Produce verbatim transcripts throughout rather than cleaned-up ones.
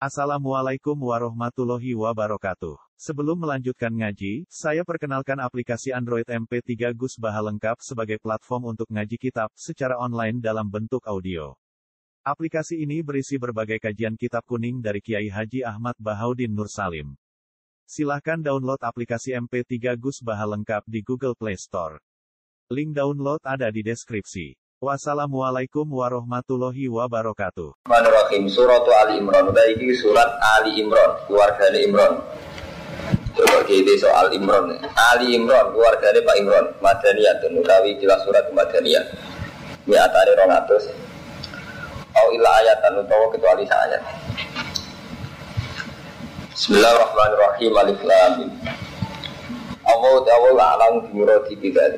Assalamualaikum warahmatullahi wabarakatuh. Sebelum melanjutkan ngaji, saya perkenalkan aplikasi Android M P tiga Gus Baha lengkap sebagai platform untuk ngaji kitab secara online dalam bentuk audio. Aplikasi ini berisi berbagai kajian kitab kuning dari Kiai Haji Ahmad Bahaudin Nur Salim. Silahkan download aplikasi M P tiga Gus Baha lengkap di Google Play Store. Link download ada di deskripsi. Wassalamualaikum warahmatullahi wabarakatuh. Bismillahirrahmanirrahim. Surat Ali Imran. Ini surat Ali Imran, keluarganya Imran. Coba kita soal Imran. Ali Imran, keluarganya Pak Imran. Madaniyah, utawi jelas surat Madaniyah. Mi'atani rong atus. Au illa ayatan utawa kecuali ayat. Bismillahirrahmanirrahim. Alif Lam Mim. Allah ta'ala a'lamu bi muradi bidzalik.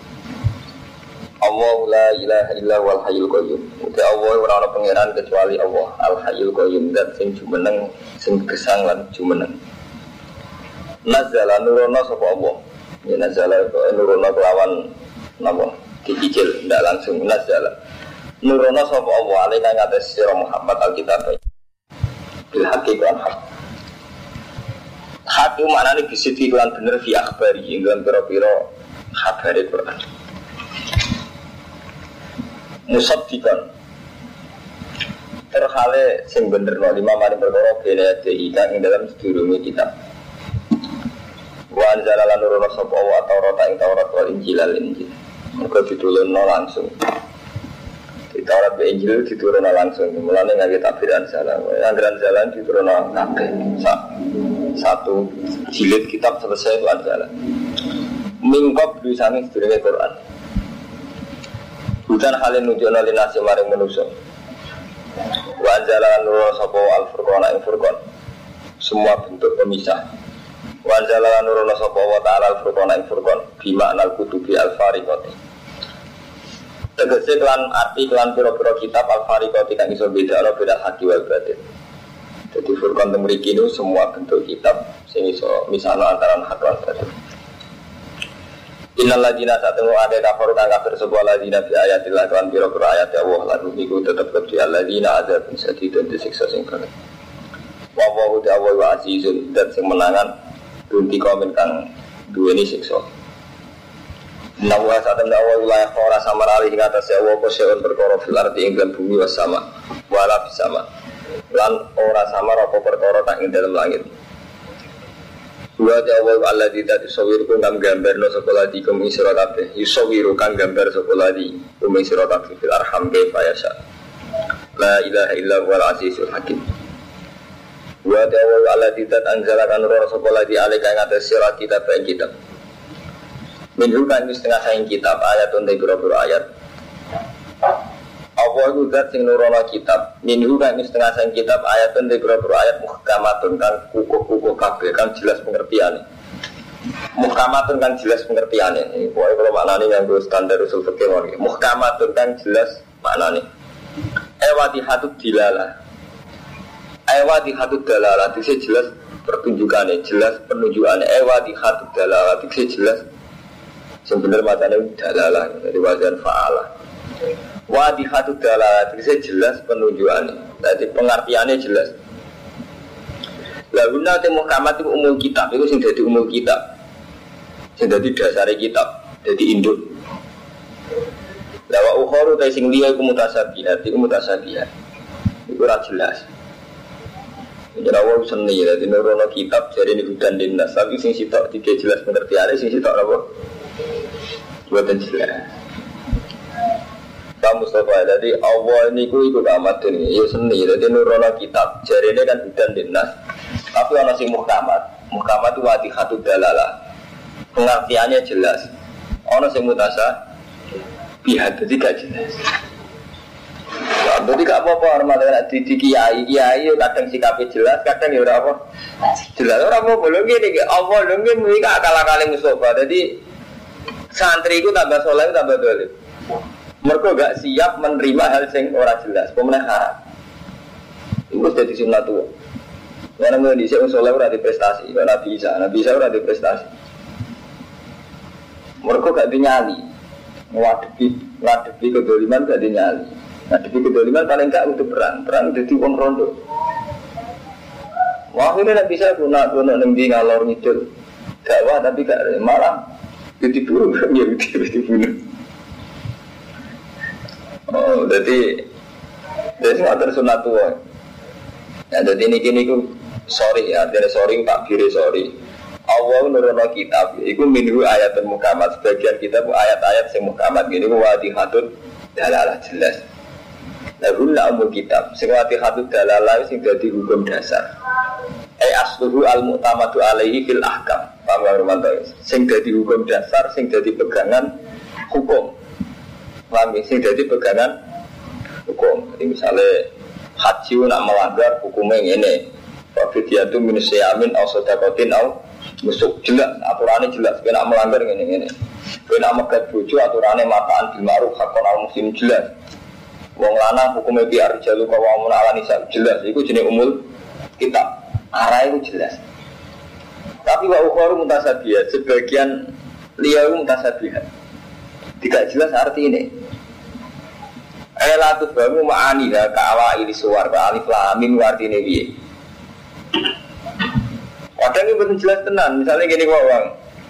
Allah la ilaha illa wal hayyul qayyum. Uti Allah ora ana pangeran kecuali Allah, Al Hayyul Qayyum, zat sing jumeneng, sing gesang lan jumeneng. Nazala nurono sapa Allah. Ya nazala nurono kelawan napa? Dicicil ndak langsung nazala. Nurono sapa Allah alika ngatas sira Muhammad Alkitab. Bil haqiqan haq. Hak itu maknane bisiti lan bener fi akhbari ing dalam pira-pira kabare Quran. Musaddiqan terhale sing bener no lima mari perkara bene ati kang ing dalam sedurunge kitab wa anzala nurono sapa wa Taurat ing Taurat wal Injil al Injil mergo ditulunno langsung di Taurat be Injil diturunno langsung mulane ngake tabiran salah anggaran jalan diturunno kabeh satu jilid kitab selesai itu anzala mingkop bisane sedurunge Quran. Bukan halin nunjukna linasi maring manusia. Wa anzala nurul sapa al-furqana ing furqan. Semua bentuk pemisah. Wa anzala nurul sapa wa ta'ala al-furqana ing furqan bi makna al-kutubi al-fariqati. Tegese kelan arti kelan pira-pira kitab al-fariqati kang iso bedakno beda haki wal batin. Jadi furqan teng mriki niku semua bentuk kitab sing iso misahno antara hak lan batin. Innal ladina satemu ada kafir kang kafir sebuah ladina bi ayatillah kan pira-pira ayat Allah lan niku tetep kedhi alladzina azab sadidun disiksa sing berat. Wa wa ta'ala wa azizun dan sing menangan dunti komen kang duweni siksa. Nawa satem dawa wilayah ora samarali ing atas Allah apa seun perkara fil ardi ing dalam bumi was sama wala bisama. Lan ora samar apa perkara kang ing dalam langit. Wa ta'awwal alladzi tasawwirukum kang gambarno sapa ladi kumi sira kabeh yusawiru kang gambar sapa ladi kumi sira kabeh fil arham kaifa yasha la ilaha illa huwal azizul hakim. Wa ta'awwal alladzi anzala kan roh sapa ladi alika ing atas sira kitab ing kitab minhu kan setengah saking kitab ayatun te pira-pira ayat. Allah itu zat sing nurono kitab minhu kan setengah sang kitab ayatun di beberapa ayat muhkamatun kan kukuh-kukuh kabeh kan jelas pengertiane muhkamatun kan jelas pengertiane ini pokoke kalau maknane nganggo standar usul fikih wae muhkamatun kan jelas maknane ewadihatud dilala ewadihatud dalala itu jelas pertunjukane jelas penunjukane ewadihatud dalala itu jelas sing bener macane dalala dari wazan fa'ala wadihatu dalalah itu jelas penunjukannya. Jadi pengertiannya jelas. Lalu nanti muhkamat itu umum kitab itu sing jadi umum kitab, sing jadi dasar kitab, jadi induk. Lawa ukhoru tay sing liya iku mutasabihat, iku mutasabihat. Iku ora jelas. Jadi awal seni, jadi nurono kitab jadi ini hudan dinas. Tapi sing sitok tidak jelas pengertiannya, sing sitok apa? Buatan jelas. Mustafa, jadi Allah ini ku ikut amat ini, ya seni, jadi nurono kitab, jari ini kan hudan dinas. Tapi ada si muhkamat, muhkamat itu wadihatu dalalah, pengertiannya jelas. Ada si mutasa, pihak jadi gak jelas. Jadi gak apa-apa, hormatnya di kiai, kiai kadang sikapnya jelas, kadang ya apa jelas. Orang mau belum gini, Allah belum gini, gak akal-akali Mustafa. Jadi santri itu tambah soleh, tambah dolim. Mereka gak siap menerima hal yang ora jelas, pemenang haram. Itu jadi sunnah tua. Karena mau disini soleh ora di prestasi, karena bisa, Nabi Isa ora di prestasi. Mereka gak dinyali, ngadepi, ngadepi kedoliman gak dinyali. Ngadepi kedoliman paling gak untuk perang, perang jadi uang rondo. Wah ini tidak bisa guna guna nengdi ngalor ngidul dakwah tapi gak malah jadi buruk kan ya jadi bunuh. Oh jadi jadi nggak tersunat tua. Ya jadi ini kini ku sorry ya, jadi sorry tak kiri sorry. Allah nurunkan kitab, itu minhu ayat muhkamat. Sebagian kitab ayat-ayat yang muhkamat gini ku wadihatun dalalah jelas. Lalu nak kitab, sing wadihatun dalalah sing jadi hukum dasar. Ai asluhu al-mu'tamadu alaihi fil ahkam. Paham ya Romanto? Sing dadi hukum dasar, sing dadi pegangan hukum. Paham ya? Sing dadi pegangan hukum. Jadi misalnya haji nak melanggar hukumnya ngene. Fa fidyatun min siyamin aw sadaqatin aw nusuk jelas, aturannya jelas. Kena melanggar ngene-ngene. Kena megat bojo aturannya mataan bil ma'ruf hakon al muslim jelas. Wong lanang hukumnya biar jalu kawamun ala nisa jelas. Iku jenenge umul kitab. Arah itu jelas. Tapi wa ukhoru mutasabiyah, sebagian liya itu mutasabiyah. Tidak jelas arti ini. Elatu bamu ma'aniha ka'awa ili suwar ka'alif la'amin wartini biye. Kadang ini betul jelas tenan. Misalnya gini wawang.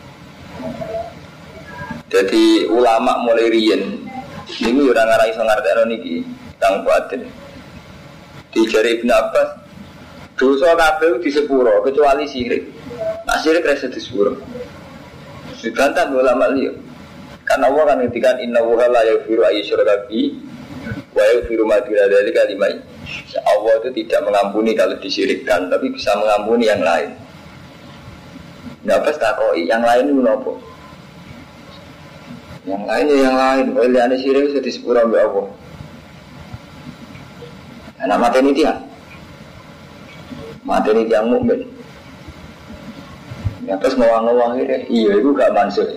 Jadi ulama mulai riyen ini orang arah iso ngartekno niki tang batin. Dijari Ibnu Abbas dosa kabeh di sepuro kecuali syirik. Nah syirik rasa di sepuro. Dibantah ulama liya. Karena Allah kan ngendikan inna wa la yaghfiru ayyusyraka bihi wa yaghfiru ma duna dzalika liman. Allah itu tidak mengampuni kalau disyirikkan, tapi bisa mengampuni yang lain. Nah pas takoi yang lain itu nopo? Yang lain ya yang lain. Oleh ane syirik itu di sepuro mbek Allah. Nah mati ini dia. Mati ini yang mukmin. Ya terus ngawang-ngawang ini, iya itu gak mansuh.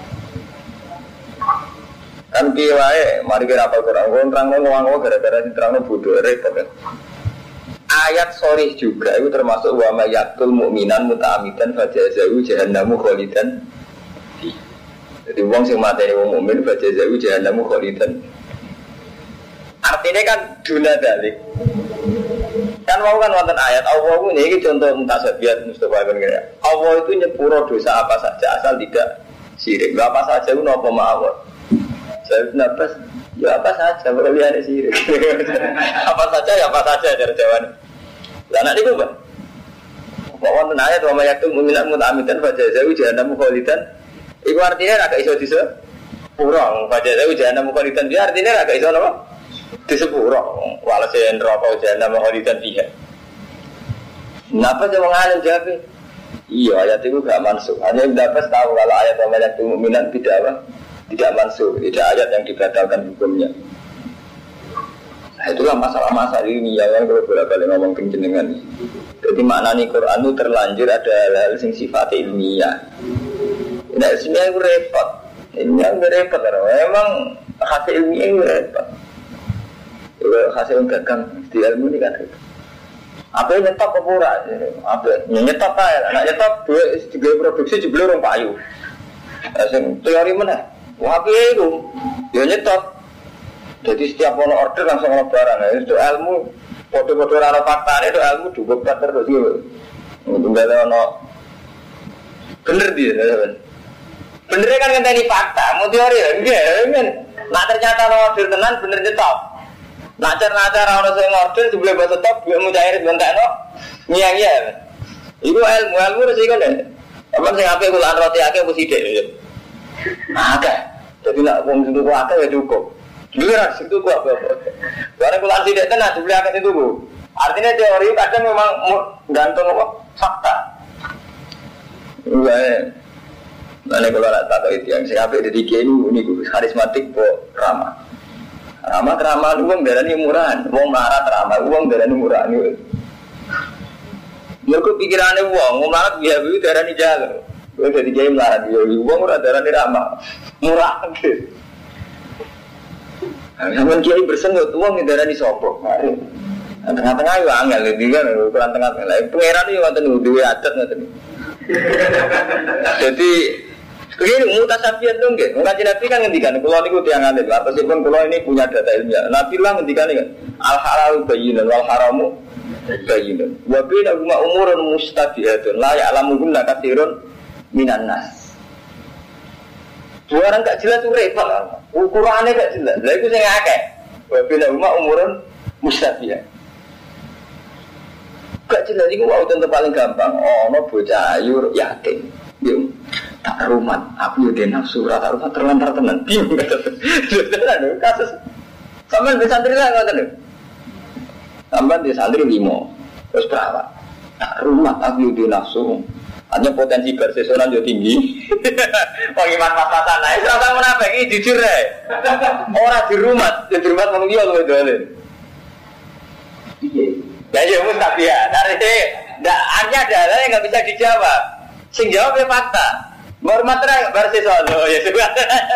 Kan piye mari kita apal Quran, gue terang ngawang-ngawang gara-gara diterang bodoh repot kan. Ayat sorry juga itu termasuk wa may yaqtul mu'minan muta'ammidan fajazahu jahannamu khalidan. Jadi wong sing mateni wong mukmin fajazahu jahannamu khalidan. Artinya kan duna dalik. Kan mau kan wonten ayat Allah ini contoh mutasabiat Mustafa kan kira. Allah itu nyepuro dosa apa saja asal tidak syirik. Apa saja itu napa mawon. Saya nafas ya apa saja berlian syirik. Apa saja ya apa saja cara jawaban. Lah nek niku Pak. Kok wonten ayat wa mayyatul mu'minat muta'ammidan fajazahu jahannamu khalidan. Iku artinya ra gak iso disepuro. Fajazahu jahannamu khalidan dia artinya ra gak iso napa? Disepuro walase neraka jahanam khalidan fiha. Napa sing wong alim jawab? Iya ayat itu gak mansuh. Hanya dapat tahu kalau ayat mayyatul mu'minat tidak apa? Tidak mansuh, tidak ayat yang dibatalkan hukumnya. Nah, itulah masalah-masalah ini ya kan kalau bolak-balik ngomong penjenengan. Jadi maknanya Quran itu terlanjur ada hal-hal yang sifatnya ilmiah. Nah, ilmiah itu repot. Ilmiah itu repot karena memang hasil ilmiah itu repot. Hasil gagang di ilmu ini kan repot. Apa yang nyetop ke pura? Apa yang nyetop kaya? Nak nyetop dua tiga produksi jebel orang payu. Asing teori mana? Wah itu, dia nyetop. Jadi setiap ono order langsung ono barang. Nah, itu ilmu, kode-kode rara fakta itu ilmu juga terus gitu. Enggak ada ono bener dia, benernya kan ngenteni fakta. Mau teori ya, enggak kan? Nah ternyata ono order tenan bener nyetop. Nacar-nacar ono sing order sebelum bahasa top, dia mau cair bentakno, ngiang-ngiang. Itu ilmu, ilmu resiko deh. Apa sing ape kulaan roti akeh mesti sithik. Agak. Jadi nak wong situ kok akeh ya cukup. Beneran situ kok apa-apa. Barang kulaan sithik tenan dibeli akeh itu Bu. Artinya teori kadang memang gantung apa? Fakta. Enggak. Nah, kalau nak tak tahu itu yang sing ape dadi kiai niku karismatik kok ramah. Ramah ramah wong darani murahan, wong marah ramah wong darani murahan. Mergo pikirane wong, ngomong biaya itu darani jalan. Kowe dadi kiai melarat yo wong ora darani ramah. Murah gitu. Sampeyan kiai bersenut wong darani sapa? Tengah-tengah yo angel iki kan ukuran tengah-tengah. Lah pangeran yo wonten duwe adat ngoten. Jadi begini mutasabiat dong nggih. Kanjeng Nabi kan ngendikan kula niku tiyang alim. Meskipun kula ini punya data ilmiah. Nabi lah ngendikan kan al halal bayyinun wal haramu Bayyinun. Wa bainahuma umurun mustabihatun la ya'lamuhunna katsirun minan nas. Dua orang gak jelas itu repot. Ukurannya gak jelas. Lah iku sing akeh. Wa bainahuma umurun mustabihat. Gak jelas iku wae contoh paling gampang. Ono bocah ayu yakin. Yo tak rumah, aku yo den nafsu ra tak rumah terlantar tenan. Bingung tenan kasus. Sampeyan di santri lah ngoten lho. Sampeyan di santri limo. Terus perawat. Tak rumah aku yo den nafsu. Hanya potensi bersesoran yo tinggi. Wong iman pas-pasan ae ora tau menapa iki jujur ae. Ora di rumah, di rumah wong liya lho dole. Piye? Ya yo wis tak biar. Dari ndak hanya ada hal yang enggak bisa dijawab. Sing jawab ya fakta. Hormat tenan bar sesuk lho ya sudah.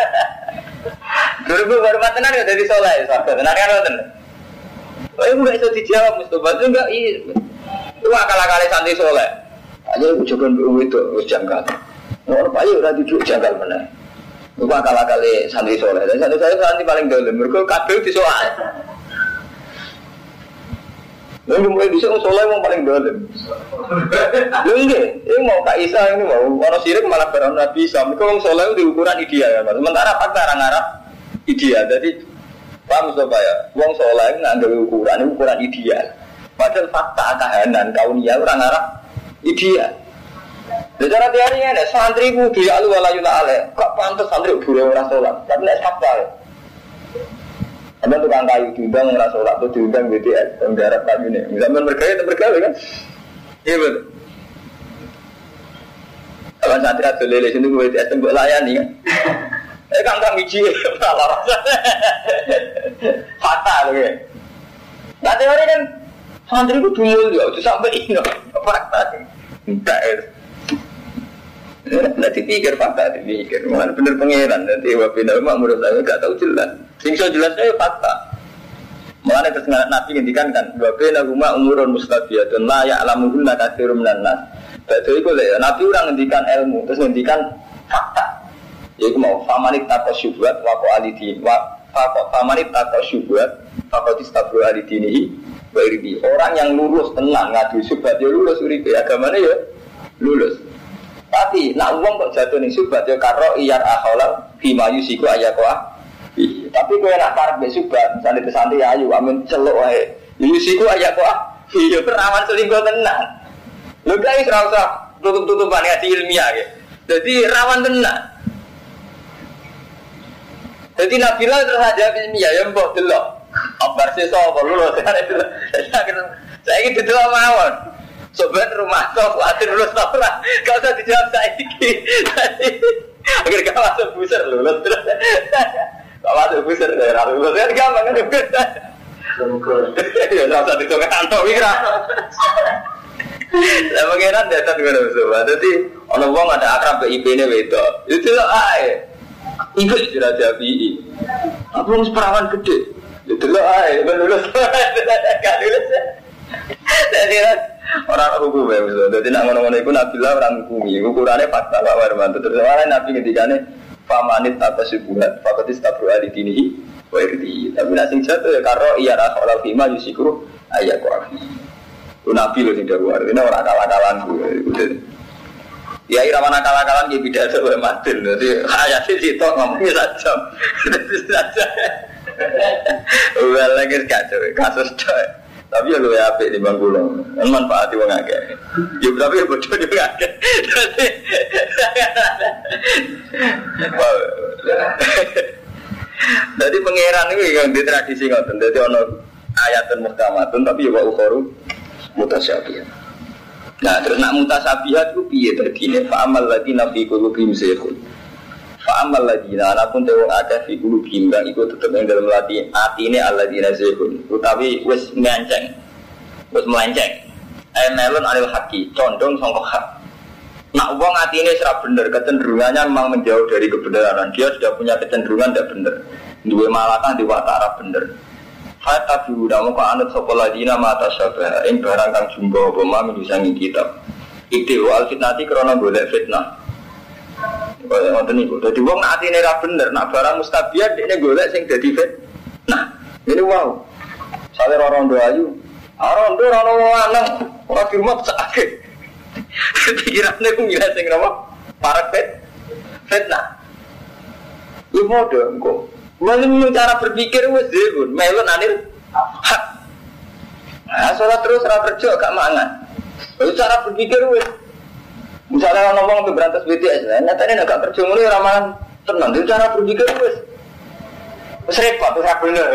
Dulu hormat tenan ya dadi saleh sahabat. Tenan kan wonten. Kok enggak iso dijawab Mustofa itu enggak iki. Itu akal-akale santri saleh. Aja ujokan itu wis janggal. Ora payu ora duduk janggal meneh. Itu akal-akale santri saleh. Dan santri saya santri paling dalem mergo kabeh disoal. Lalu mulai bisa soleh yang paling dalam. Lalu ini, ini mau Kak Isa ini mau orang sirik malah berang Nabi Isa. Mereka orang soleh itu ukuran ideal kan. Sementara fakta orang Arab ideal. Jadi paham Mustafa ya. Orang soleh nggak ada ukuran, ini ukuran ideal. Padahal fakta kahanan kaunia orang Arab ideal. Jadi cara teorinya ada santri kudu ya alu walayula ale. Kok pantas santri buru orang soleh. Tapi tidak fakta ya. Ada tukang kayu diundang nggak sholat tuh diundang B T S penggarap kayu nih. Misalnya bergaya atau bergawe kan? Iya betul. Kalau santri atau lele sini B T S tembok layani kan? Eh kang kang biji malah rasa fatal gitu. Nah teori kan santri itu dulu ya, itu sampai ini fakta sih. Enggak es. Nanti pikir fakta, dipikir mana bener pangeran nanti wabina mak menurut saya nggak tahu jelas. Singso jelasnya fakta. Mulane terus Nabi ngendikan kan wabina mak umurun mustabiyatun la ya'lamuhunna katsirun minan nas. Berarti iku lho Nabi ora ngendikan ilmu, terus ngendikan fakta. Yaiku mau famanit taqasyubat wa qalidin wa famanit taqasyubat faqad istabru alidinihi wa irbi. Orang yang lulus tenang ngadu syubhat ya lulus uripe agamane ya lulus. Tapi nak wong kok jatuh ning syubhat ya karo iyar akhalal bima yusiku ayaqwa. Tapi kowe nak parek mbek syubhat, misale pesantren ayu amun celuk wae. Yusiku ayaqwa. Iya perawan selingkuh tenan. Lho guys ora usah tutup-tutupan ngaji ilmiah ya. Jadi rawan tenan. Jadi Nabila terus aja ilmiah ya mbok delok. Abar sesuk apa lho saya iki delok mawon. Sobat rumah tok kuatir lulus ora. Gak usah dijawab saiki. Agar gak masuk buser lulus terus. Gak masuk buser ora lulus. Kan gampang kan. Ya ora usah dicoba kantor wira. Lah pengenan datang ngono sobat. Dadi ana wong ada akrab be I P-ne wedok. Itu lho ae. Iku dira jabi. Apa wong perawan gede. Itu lho ae lulus. Gak lulus. Dadi orang hukum ya misalnya, jadi nak ngono-ngono itu Nabi lah orang hukumi, ukurannya fakta Pak Warman. Terus orang Nabi ketika ini famanit atas subuhat, fakotis tabru alidinihi, wa irdi. Tapi nasing jatuh ya karo iya rasul alfima yusikuru ayat korafi. Itu Nabi loh tidak luar, ini orang akal-akalan gue. Ya irawan akal-akalan dia tidak ada oleh matil. Jadi ayatnya sitok ngomongnya saja, saja. Udah lagi kacau, kasus coy. Tapi ya lu ya apik di bangkulo, kan manfaati wong akeh. Ya tapi ya bodoh juga akeh. Jadi pangeran iki yang di tradisi ngoten. Dadi ana ayatun muhkamatun tapi ya wa ukharu mutasyabihah. Nah, terus nak mutasabihat ku piye dadine? Fa amal ladina fi qulubihim zayghun. Fa amal ladina anapun tewong akeh fi qulubihim kang iku tetep ing dalem ati atine alladina zayghun. Utawi wis nganceng. Wis melenceng. Ay melon alil haqi, condong sangka hak. Nak wong atine ora bener, kecenderungannya memang menjauh dari kebenaran. Dia sudah punya kecenderungan tidak bener. Duwe malatan di watara bener. Fata biuda muka anut sapa ladina mata syabah ing barang kang jumbo apa mami disangi kitab. Iki wal fitnati krana golek fitnah. Kaya ngoten niku. Dadi wong nek atine ra bener, nak barang mustabiat dekne golek sing dadi fitnah. Ini wow. Sale rondo ayu Orang tuh orang lanang, orang di rumah sakit. Pikirannya aku ngira sing apa? Para pet, fitnah. Lu mau dong kok? Mana cara berpikir wes deh, melon anil. Nah, sholat terus sholat kerja gak mangan. Itu cara berpikir wes. Misalnya ngomong berantas B T S, nyatanya agak kerja mulai ramalan tenang. Itu cara berpikir wes. Wes repot, wes bener.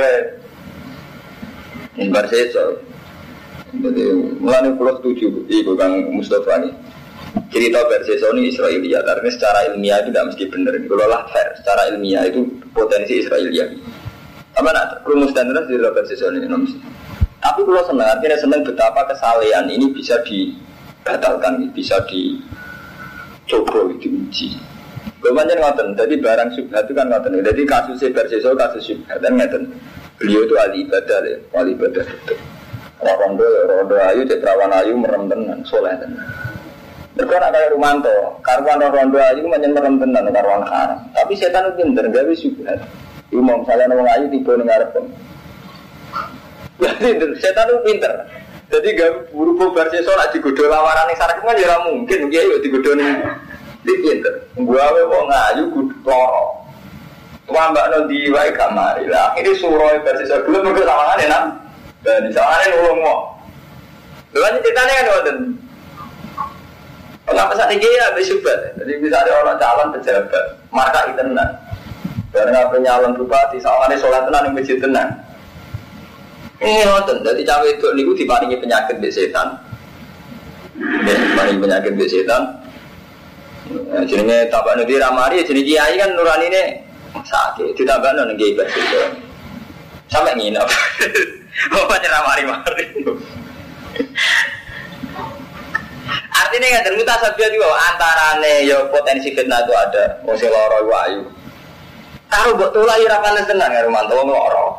Ini bersih. Jadi mulai pulau setuju, ibu Kang Mustafa ini cerita versi Sony Israelia, karena secara ilmiah itu tidak mesti benar. Kalau lah fair, secara ilmiah itu potensi Israelia. Apa nak rumus dan terus di versi Sony ini mesti. Tapi kalau senang, artinya senang betapa kesalahan ini bisa dibatalkan, bisa dicoba, diuji. Bagaimana ngoten? Jadi barang syubhat itu kan ngoten. Jadi kasus versi Sony kasus syubhat dan ngoten. Beliau itu ahli ibadah ya, ahli ibadah itu. Orang rondo, rondo ayu, cetrawan ayu, merem tenan, soleh tenan. Mereka nak kaya Rumanto, karuan rondo ayu menyen merem tenan, karuan haram. Tapi setan itu pinter, gawe syubhat. Iku mau misalnya orang ayu tiba ning ngarep. Jadi setan itu pinter. Jadi gawe buru-buru bar sesuk lak digodho lawaran ning sarep kan ya ora mungkin, kiye yo digodho ning iki pinter. Gawe wong ayu kudu loro. Wambakno di wae kamari lah. Akhire suroe bar sesuk gelem mergo sawangane nang. Dan di sana ini ulung mau. Lalu ceritanya kan wadah. Kalau pesan tinggi ya habis syubhat. Jadi bisa ada orang calon pejabat, marka itu tenan. Karena penyalon bupati, sawangannya sholat tenan yang masjid tenan. Ini wadah. Jadi cawe itu niku diparingi penyakit be setan. Ya, diparingi penyakit be setan. Jenenge tabak nanti ramari, jenenge kiai kan nurani ini sakit. Ditambah nanti kiai bersih. Sampai nginap. Oh, macam mari-mari. Artinya nggak termutas saja juga antarane yo potensi fitnah itu ada. Mesti loro wayu. Taruh buat tulah ira panas tenan karo mantu loro.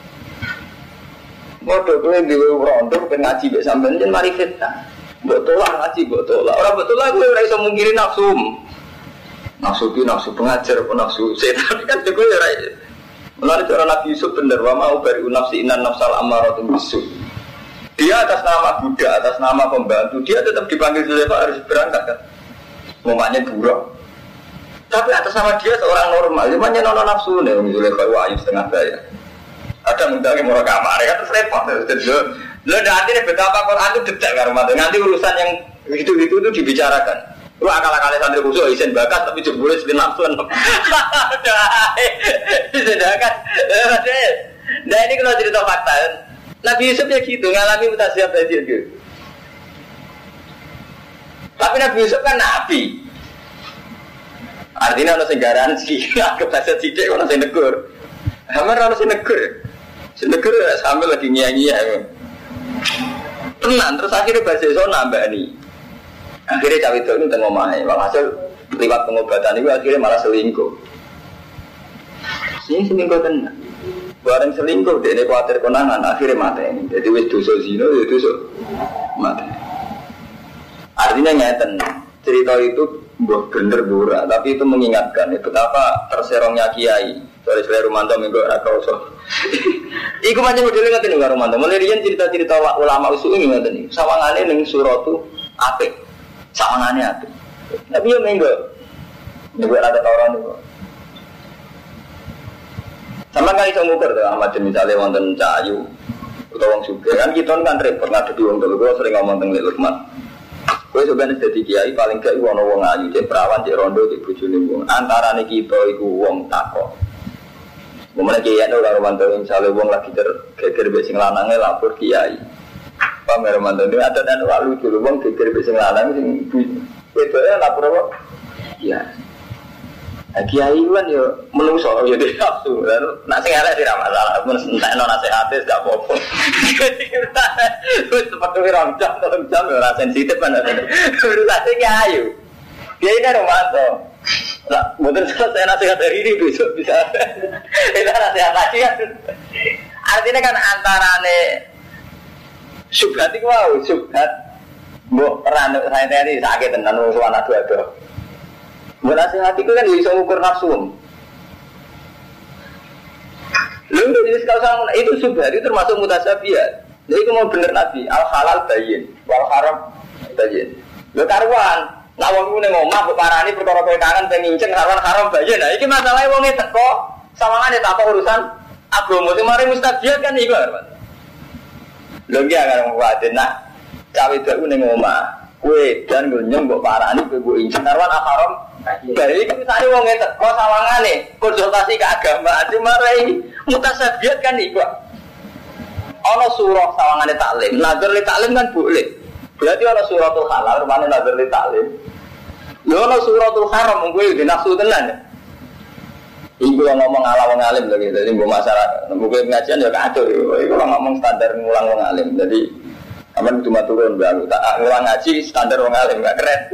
Bodoh kowe dhewe rondo ben ngaji mek sampean yen mari fitnah. Buat tulah ngaji buat tulah. Ora buat tulah kowe ora iso mungkiri nafsu. Nafsu ki nafsu pengajar apa nafsu setan kan kowe ora. Melalui cara Nabi Yusuf benar, wa mau bari nafsi inan nafsal amaratun bisu. Dia atas nama Buddha, atas nama pembantu, dia tetap dipanggil Zulekha harus berangkat kan. Ngomongnya buruk. Tapi atas nama dia seorang normal, cuma nyono nafsu nih, Zulekha wahyu setengah daya. Ada mendaki murah kamar, kan terus repot. Lo nanti nih betapa Quran itu detail kan, nanti urusan yang itu-itu itu dibicarakan. Lu akal-akalnya santri khusus isen bakat tapi jebule sing nafsu. Sudah kan. Nah ini kalau cerita fakta. Nabi Yusuf ya gitu ngalami mutasyab tadi gitu. Tapi Nabi Yusuf kan nabi. Artinya ono sing garansi, anggap saja sithik ono sing negur. Hamar ono sing negur. Sing negur sambil lagi nyanyi-nyanyi. Tenang terus akhirnya bahasa iso nambani. Akhirnya cawe itu ini tengok mahal, hasil lewat pengobatan itu akhirnya malah selingkuh. Ini selingkuh tenang. Barang selingkuh, dia ini khawatir konangan, akhirnya mati ini. Jadi wis dosa zina, ya dosa mati. Artinya ngeten, cerita itu bener burak, tapi itu mengingatkan ya, betapa terserongnya kiai. Soalnya Rumanto minggu rakau so. Iku macam modelnya ngerti nih Rumanto. Mulai cerita-cerita ulama usul ini ngerti nih. Sawangannya nih suratu apik. Sawangannya apik. Tapi ya minggu, minggu ada orang nih. Sama kali saya ngukur tuh Ahmad misalnya wonten Cahayu atau wong Suge kan kita kan repot ngadepi wong dulu. Gue sering ngomong tentang Lukman. Gue sebenarnya jadi kiai paling gak iku ana wong ayu, cek perawan, cek rondo, cek bojone wong. Antarane kita iku wong takok. Momene kiai ana ora mantu misale wong lagi geger mbek sing lanange lapor kiai. Pamer mantu ini ada dan lalu lucu wong geger mbek sing lanang sing wedoke lapor apa? Iya. Kiai kan yo menungso yo dhewe nafsu. Nek sing elek ora masalah, men entekno nasihate gak apa-apa. Wis seperti orang jam, orang jam ora sensitif kan. Urusane kiai. Kiai nek romanto. Lah, mboten selesai nasihat hari ini besok bisa. Itu nasihat lagi kan. Artinya kan antarane subhat iku wae, subhat mbok peran saya tadi sakit tenan wong anak dua-dua. Nasihat itu kan bisa mengukur nafsu. Lalu jadi kalau sama itu subhat itu termasuk mutasyabihat. Jadi itu mau bener Nabi, al halal bayin, wal haram bayin. Lho karuan, nak wong ku ning omah kok parani perkara kowe kangen pengen nginceng haram haram bayin. Nah iki masalahe wonge teko sawangane tak urusan agama sing mari mustabiat kan iku kan. Lho iki karo kuwate nak cawe deku ning omah, kowe dan nyong kok parani kowe nginceng haram haram. Baik iki misale wonge teko sawangane konsultasi keagamaan cuma rai mutasabiat kan iku. Ana surah sawangane taklim, nazar li taklim kan boleh. Berarti ana suratul halal, rupane nazar li taklim. Lho ana suratul haram mung kowe iki nafsu tenan. Iku ngomong ala wong alim lho gitu. Dadi mbok masyarakat, mbok pengajian ya kacau. Iku ngomong standar ngulang wong alim. Jadi aman cuma turun baru tak ngulang ngaji standar wong alim gak keren.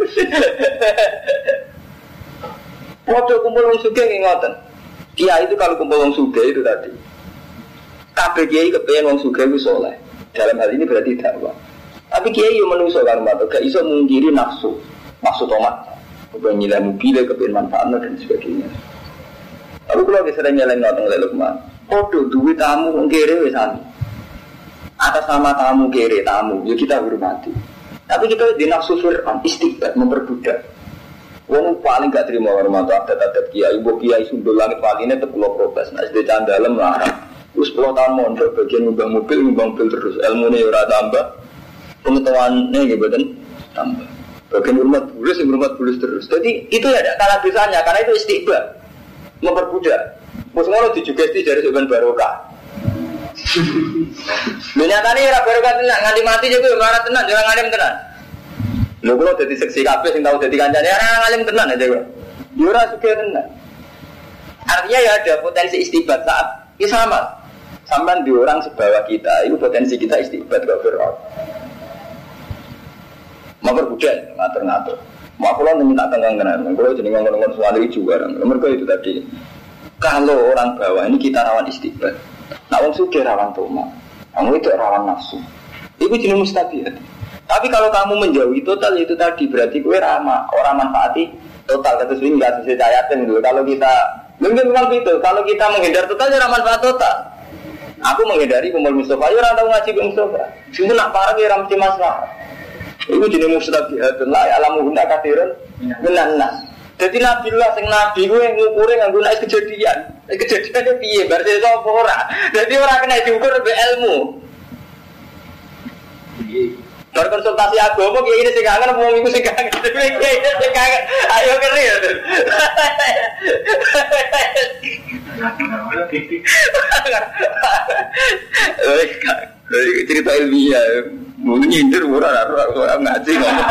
Waktu kumpul wong sugih ngoten. Kiai itu kalau kumpul wong sugih itu tadi kabeh kiai kepengen wong sugih ku saleh. Dalam hal ini berarti dakwah. Tapi kiai yo menungso kan matur, gak iso mungkiri nafsu. Nafsu tomat. Kepengen nilai mobil, kepengen manfaatnya dan sebagainya. Tapi kalau kita sering nyeleng ngoten lek Lukman, podo duwe tamu wong kere wis sami. Atas nama tamu kere tamu, ya kita hormati. Tapi kita di nafsu fir'an istiqbat memperbudak. Wong paling gak terima hormat adat-adat kiai, ibu kiai sundul langit paline tekulo protes. Nah, sedhe candalem larang. Terus sepuluh tahun mondok bagian ngubah mobil, ngubah mobil terus. Ilmunya ora tambah, pengetahuannya gitu kan tambah. Bagian hormat bulus, hormat bulus terus. Jadi itu ya ada kalah dosanya, karena itu istiqbal, memperbudak. Mesti ngono dijugesti dari sebenarnya barokah. Menyatani ora barokah tenan, nganti mati juga ora tenan, jangan ngalim tenan. Lho kula dadi seksi kabeh sing tau dadi kancane ora ngalim tenan aja kok. Yo ora sugih tenan. Artinya ya ada potensi istiqbal saat ini sama. Sampai di orang sebawah kita, itu potensi kita istiqbat ke Fir'aun. Mau berbudak, ngatur-ngatur. Mau pulang minta tenggang-tenggang. Kalau jadi ngomong-ngomong soal itu juga. Mereka itu tadi. Kalau orang bawah ini kita rawan istiqbat. Nah, orang suka rawan toma. Kamu itu rawan nafsu. Itu jenis mustabiat. Tapi kalau kamu menjauhi total itu tadi berarti kue ramah. Orang manfaati total. Kata sini nggak bisa cayatin dulu. Kalau kita mungkin memang itu. Kalau kita menghindar total, ya manfaat total. Aku menghindari kumpul Mustafa, ya orang tahu ngaji ke Mustafa. Cuma nak parah ya ramai masalah. Itu jenis mustabihatun lah, alamu guna kathirun menanas. Jadi Nabi Allah, sing Nabi gue ngukurin nganggo nek kejadian. Kejadiannya piye? Berarti sapa ora. Jadi ora kena diukur be ilmu. Berkonsultasi agama kiai ini sing kangen wong iku sing kangen. Kiai ini sing kangen. Ayo keri ya. Cerita ilmiah mungkin nyindir murah orang ngaji ngomong.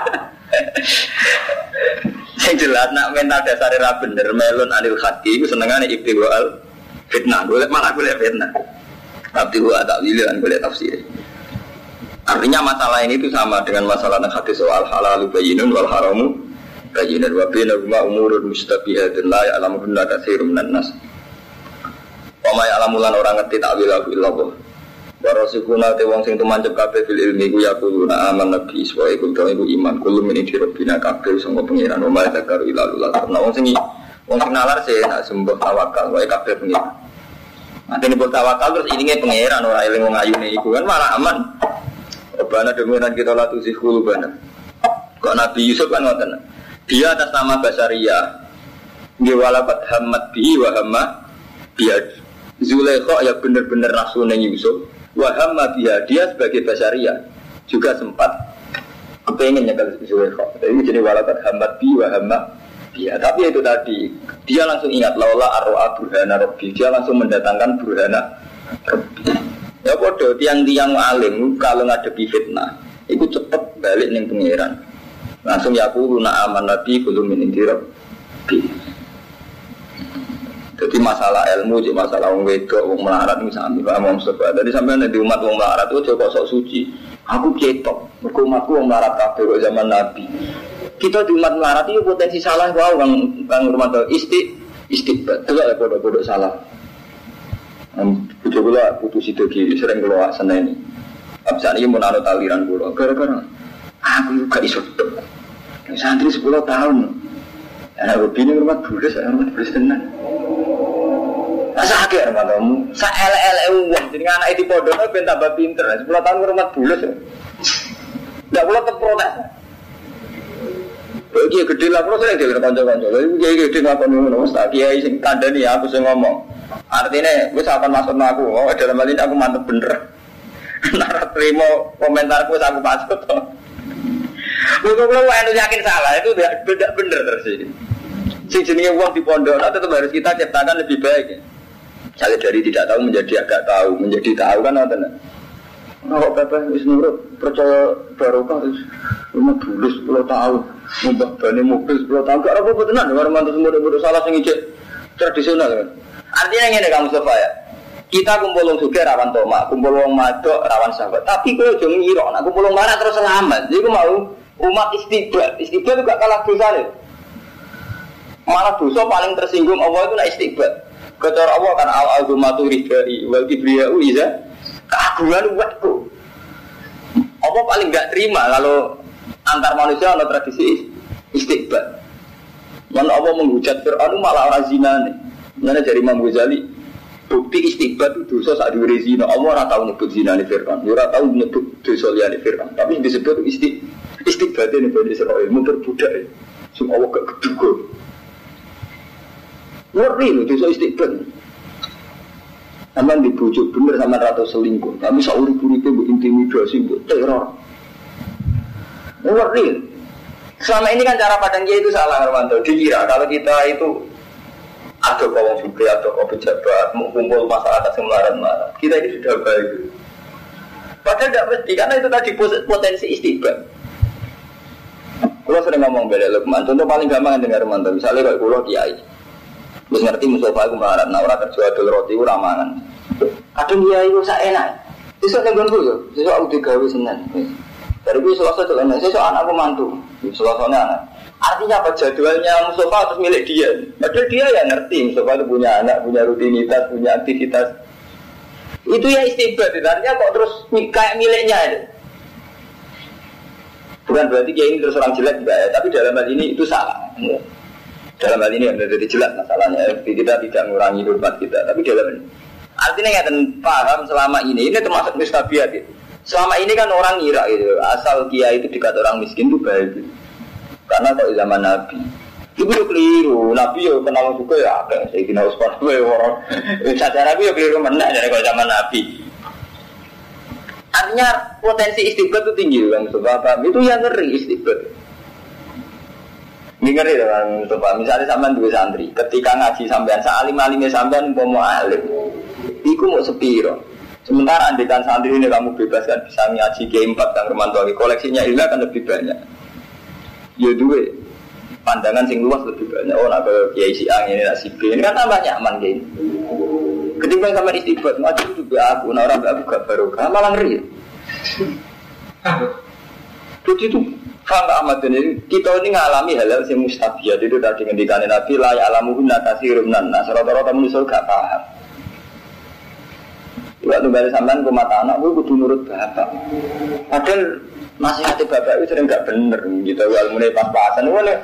Yang jelas nak mental dasar era bener melon anil hati itu senengane ibtiwal fitnah boleh malah boleh fitnah tapi gua tak pilihan boleh tafsir. Artinya masalah ini itu sama dengan masalah hadis soal halal bayyinun wal haramu bayyinun wa bainahuma umurun mustabihatun la ya'lamuhunna katsirun minan nas. Wa ma ya'lamulan orang ngerti takwil illallah. Wa rasuluna te wong sing tumancep kabeh fil ilmi ku yaquluna aman nabi wa iku iku iman kulo min iki robina kabeh sanggo pengiran wa zakar ilallah. Nah wong sing wong sing nalar sih nak sembah tawakal wae kabeh pengiran. Matene bol tawakal terus ilinge pengiran ora eling wong ayune iku kan malah aman. Rabbana demiran kita la tuzigh qulubana. Kok Nabi Yusuf kan ngoten. Dia atas nama Basariyah. Nggih walakat hammat bi wa hamma biad. Zulaikha ya bener-bener nafsune Yusuf. Wa hamma biha dia sebagai Basariyah juga sempat kepengen nyekel Zulaikha. Jadi jadi walakat hammat bi wa hamma biad. Tapi itu tadi dia langsung ingat laula arwa burhana rabbi. Dia langsung mendatangkan burhana rabbi. Ya bodoh, tiang-tiang alim kalau ngadepi fitnah itu cepet balik ning pengiran langsung ya aku luna aman nabi kudu min indirab jadi masalah ilmu jadi masalah wong wedok wong melarat ini sami Pak Mustafa jadi sampean di umat wong melarat itu kok sok suci aku ketok mergo umatku wong melarat kabeh kok zaman nabi kita di umat melarat itu potensi salah wae bang bang rumah isti istiqbat delok bodoh-bodoh salah. Bujuk gula putus itu kiri sering keluar sana ini. Abis ini mau naruh aliran gula. Gara-gara aku juga iso. Santri sepuluh tahun. Anak begini rumah bulus, rumah bulus tenan. Masa kaget matamu. Sa elek-elek wong jenenge anak iki pondok ben tambah pinter. sepuluh tahun rumah bulus. Ndak kula terprotes. Iki gede lah kula sering dhewe kanca-kanca. Iki gede ngakoni ngono wis tak kiai sing kandhani aku sing ngomong. Artinya wis akan maksud aku. Oh dalam hal ini aku mantep bener. Nara terima komentarku wis aku pasut. Kok kula anu yakin salah itu tidak bener terus iki. Sing jenenge wong di pondok tetap harus kita ciptakan lebih baik. Ya. Misalnya dari tidak tahu menjadi agak tahu, menjadi tahu kan ngoten. Oh, bapak wis nurut percaya barokah terus rumah bulus sepuluh tahun, mbah bane mobil sepuluh tahun gak apa-apa tenan karo mantu semua salah sing ijek tradisional kan. Artinya ngene Kang Mustafa ya. Kita kumpul wong sugih rawan tomak, kumpul wong madok rawan sahabat. Tapi kowe aja ngira nek kumpul wong marah terus selamat. Iku mau umat istighfar. Istighfar juga kalah dosane. Malah dosa paling tersinggung Allah itu nek istighfar. Kecara Allah kan al-azumatu ridai wal kibriya'u iza keagungan umatku. Allah paling enggak terima kalau antar manusia ada tradisi istighfar. Mana Allah menghujat Fir'aun malah orang zina nih. Mana dari Imam Ghazali bukti istighfar itu dosa saat diwiri zina. Allah ora tau nyebut zina nih Fir'aun. Ora tau nyebut dosa liyane Fir'aun. Tapi disebut isti istighfar ini Bani Israil memperbudak. Semua Allah gak keduga. Ngeri loh dosa istighfar. Aman dibujuk bener sama rata selingkuh. Tapi sauri-uripe mbok intimidasi, mbok teror. Ngeri. Selama ini kan cara pandang dia itu salah Armanto. Dikira kalau kita itu ada kawan juga atau kawan pejabat mengumpul masyarakat semelarat-melarat. Kita ini sudah baik. Padahal tidak mesti karena itu tadi potensi istighfar. Kalau sering ngomong bela Lukman, contoh paling gampang dengar Armanto. Misalnya kalau kulo kiai, terus ngerti musofa aku melarat, nah orang kerja adol roti aku ramangan. Kadang kiai itu saya enak. Besok nenggon kulo, besok aku digawe Senin. Dari gue selasa jalan, saya soal anakku mantu, selasanya anak. Artinya apa jadwalnya Mustafa harus milik dia. Padahal dia ya ngerti Mustafa itu punya anak, punya rutinitas, punya aktivitas. Itu ya istighfar. Artinya kok terus kayak miliknya itu. Bukan berarti dia ini terus orang jelek juga ya. Tapi dalam hal ini itu salah. Dalam hal ini yang jadi jelas masalahnya. Kita tidak mengurangi hormat kita. Tapi dalam ini. Artinya nggak paham selama ini. Ini termasuk mustabiat gitu. Selama ini kan orang ngira gitu, asal kiai itu dekat orang miskin itu baik gitu. Karena kalau zaman Nabi itu udah keliru, Nabi ya kenal juga ya ada saya kira Usman orang saja Nabi ya keliru mana dari kalau zaman Nabi. Artinya potensi istighfar itu tinggi kan, sebab itu yang ngeri istighfar. Ini ngeri kan, sebab misalnya sampean dua santri, ketika ngaji sampean salim alimnya sampean mau alim, iku mau sepiro. Sementara andikan santri ini kamu bebaskan bisa ngaji G empat dan Romanto koleksinya hilang kan lebih banyak. Ya dua pandangan sing luas lebih banyak. Oh nak ke Kiai Siang ini nak si B ini kan tambah nyaman gini. Ketimbang sama istighfar ngaji itu juga aku, nah orang aku gak barokah malah ngeri. Jadi itu faham Ahmad ini kita ini ngalami hal-hal yang mustabiat itu tadi ngendikan Nabi la ya'lamuhun nakasirun nas rata-rata manusia gak paham. Waktu balik sampean ke mata anak, gue kudu nurut bapak. Padahal nasihatnya bapak itu sering gak bener gitu. Kalau mulai pas-pasan, gue nih.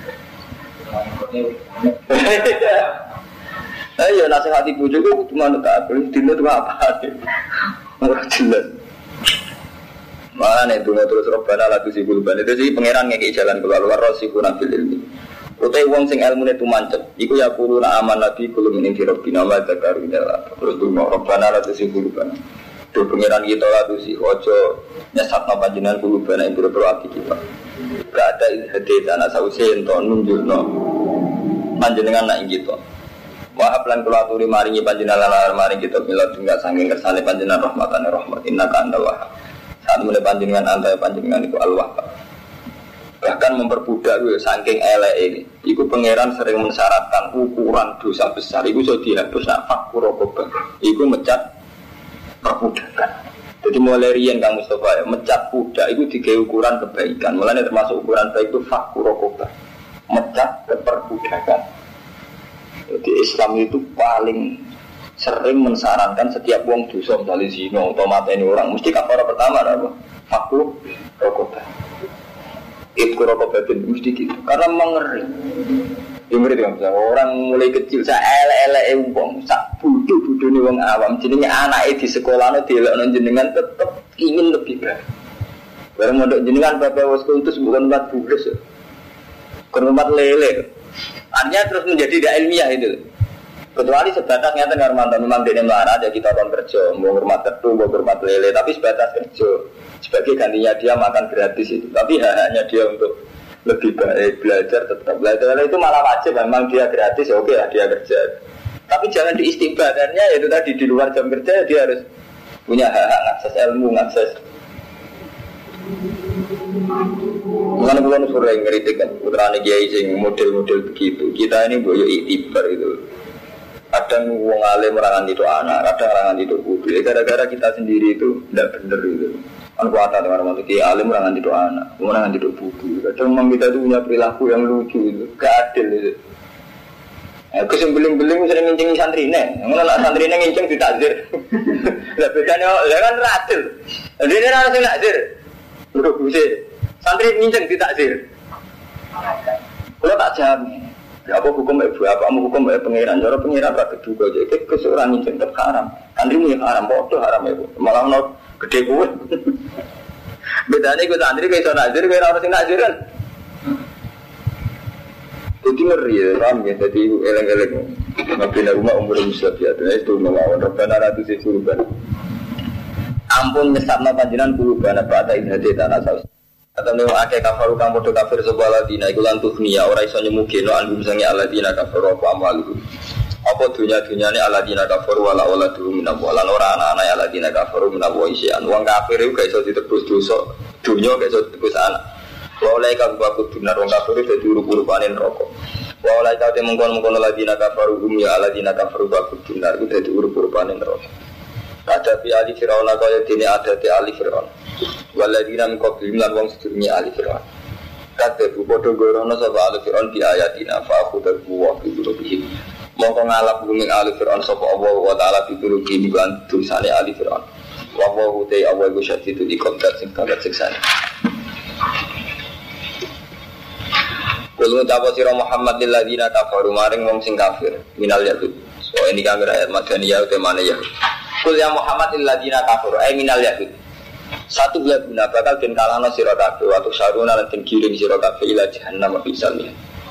Ayo nasihat ibu juga cuma tak boleh dino itu apa? Orang jelas. Mana nih dunia terus robbana lagu si bulban itu sih pangeran ngekik jalan keluar luar rosi kurang bil ilmi. Utai wong sing ilmu itu mancet. Iku ya kuruna aman nabi kulum ini dirobina wa zakaru jala. Terus dunia robbana lagu si bulban. Do pangeran kita lagu si ojo nyesat no panjenengan bulban yang buru-buru hati kita. Gak ada hati tanah sausen to nunjuk no panjenengan nak gitu. Wahab lan kula aturi maringi panjenengan lan maring kita mila tunggal saking kersane panjenengan rahmatane rahmat innaka antal wahhab. Saat mulai panjenengan antai panjenengan itu al-wahhab. Bahkan memperbudak itu saking elek ini. Iku pangeran sering mensyaratkan ukuran dosa besar. Iku sudah dihapus nak fakkur rokobah. Iku mecat perbudakan. Jadi mulai rian Kang Mustafa ya, mecat budak itu tiga ukuran kebaikan. Mulanya termasuk ukuran baik itu fakkur rokobah. Mecat keperbudakan. Jadi Islam itu paling sering mensarankan setiap wong dosa misalnya zina atau mateni orang mesti kafara pertama apa? Fakku rokobah. Itu rokobah itu mesti gitu. Karena mengeri. Yang ngeri kan orang mulai kecil saya elek-elek wong sak Budu-budu nih wong awam, jadinya anaknya di sekolah no delokno jenengan tetep ingin lebih baik. Bareng mondok jenengan bapak was kultus bukan empat bulan, bukan empat lele. Artinya terus menjadi tidak ilmiah itu. Kecuali sebatas nyata ngarmanto memang dia melarang ada kita orang kerja, mau hormat tertu, mau hormat lele, tapi sebatas kerja. Sebagai gantinya dia makan gratis itu, tapi hanya dia untuk lebih baik belajar tetap belajar itu malah wajib, memang dia gratis ya oke lah dia kerja. Tapi jangan diistighbarkannya itu tadi di luar jam kerja dia harus punya hak akses ilmu, akses. Mengenai bukan sore ngeritik kan, putrane kiai sing model-model begitu. Kita ini boyo iktibar itu. Kadang wong alim merangan itu anak, kadang merangan itu kudu. Gara-gara kita sendiri itu tidak benar itu. Kan kuatan dengan orang itu alim merangan itu anak, merangan itu kudu. Kadang memang kita itu punya perilaku yang lucu itu, gak adil itu. Ya, kesembeling-beling sering ngincing santri nih, ngono nak santri nih ngincing ditakzir. Lah bedane ya kan adil. Dia ini harus ditakzir. Lho bisa santri ngincing ditakzir. Kalau tak jamin. Ya apa hukum ibu apa kamu hukum ibu pengiran, cara pengiran tak keduga jadi keseorang ngincing tetap haram. Santri mu haram, bodoh haram ibu. Malah no gede gue. Bedane iku santri kayak iso nakzir, kayak ora sing nakzir kan. Jadi ngeri ya, ram ya, jadi eleng-eleng mabina rumah umur musab ya, itu melawan Rabbana ratu si kurban ampun nyesatna panjinan kurban apa ada idhati tanah saus atau memang akeh kafaru kang podo kafir sebuah ladina iku lan tuhniya ora iso nyemugeno anggum sange aladina kafaru apa amalu apa dunya-dunyane aladina kafaru wala wala dulu minabu lan ora anak-anak aladina kafaru minabu isian wong kafir iku gak iso ditebus dosa dunya gak iso ditebus anak. Walai kau baku benar orang kafir itu diuruk-uruk panen rokok. Walai kau temungkon mungkon lagi nak kafir umum ya lagi nak kafir baku benar itu diuruk-uruk panen rokok. Ada di ali Firaun kau yang ini ada di ali Firaun. Walai di dalam kau bilang wong sedurungnya ali Firaun. Kata bodoh gorono sebab ali Firaun di ayatina faafu terbuah itu lebih. Mongko ngalap bumi ali Firaun sebab Allah wa taala dituruh di bulan tulisannya ali Firaun. Wawahu tei awal gusyat itu di kontak sing kontak siksanya. Kalau ucap sira Muhammad lil ladina kafaru maring wong sing kafir minal yahud. So ini kan ayat madaniyah te mana ya. Kul ya Muhammad lil ladina kafaru ay minal yahud. Satu bulan guna bakal den kalana sira kabeh waktu saruna lan den kirim sira kabeh ila jahannam bisalnya.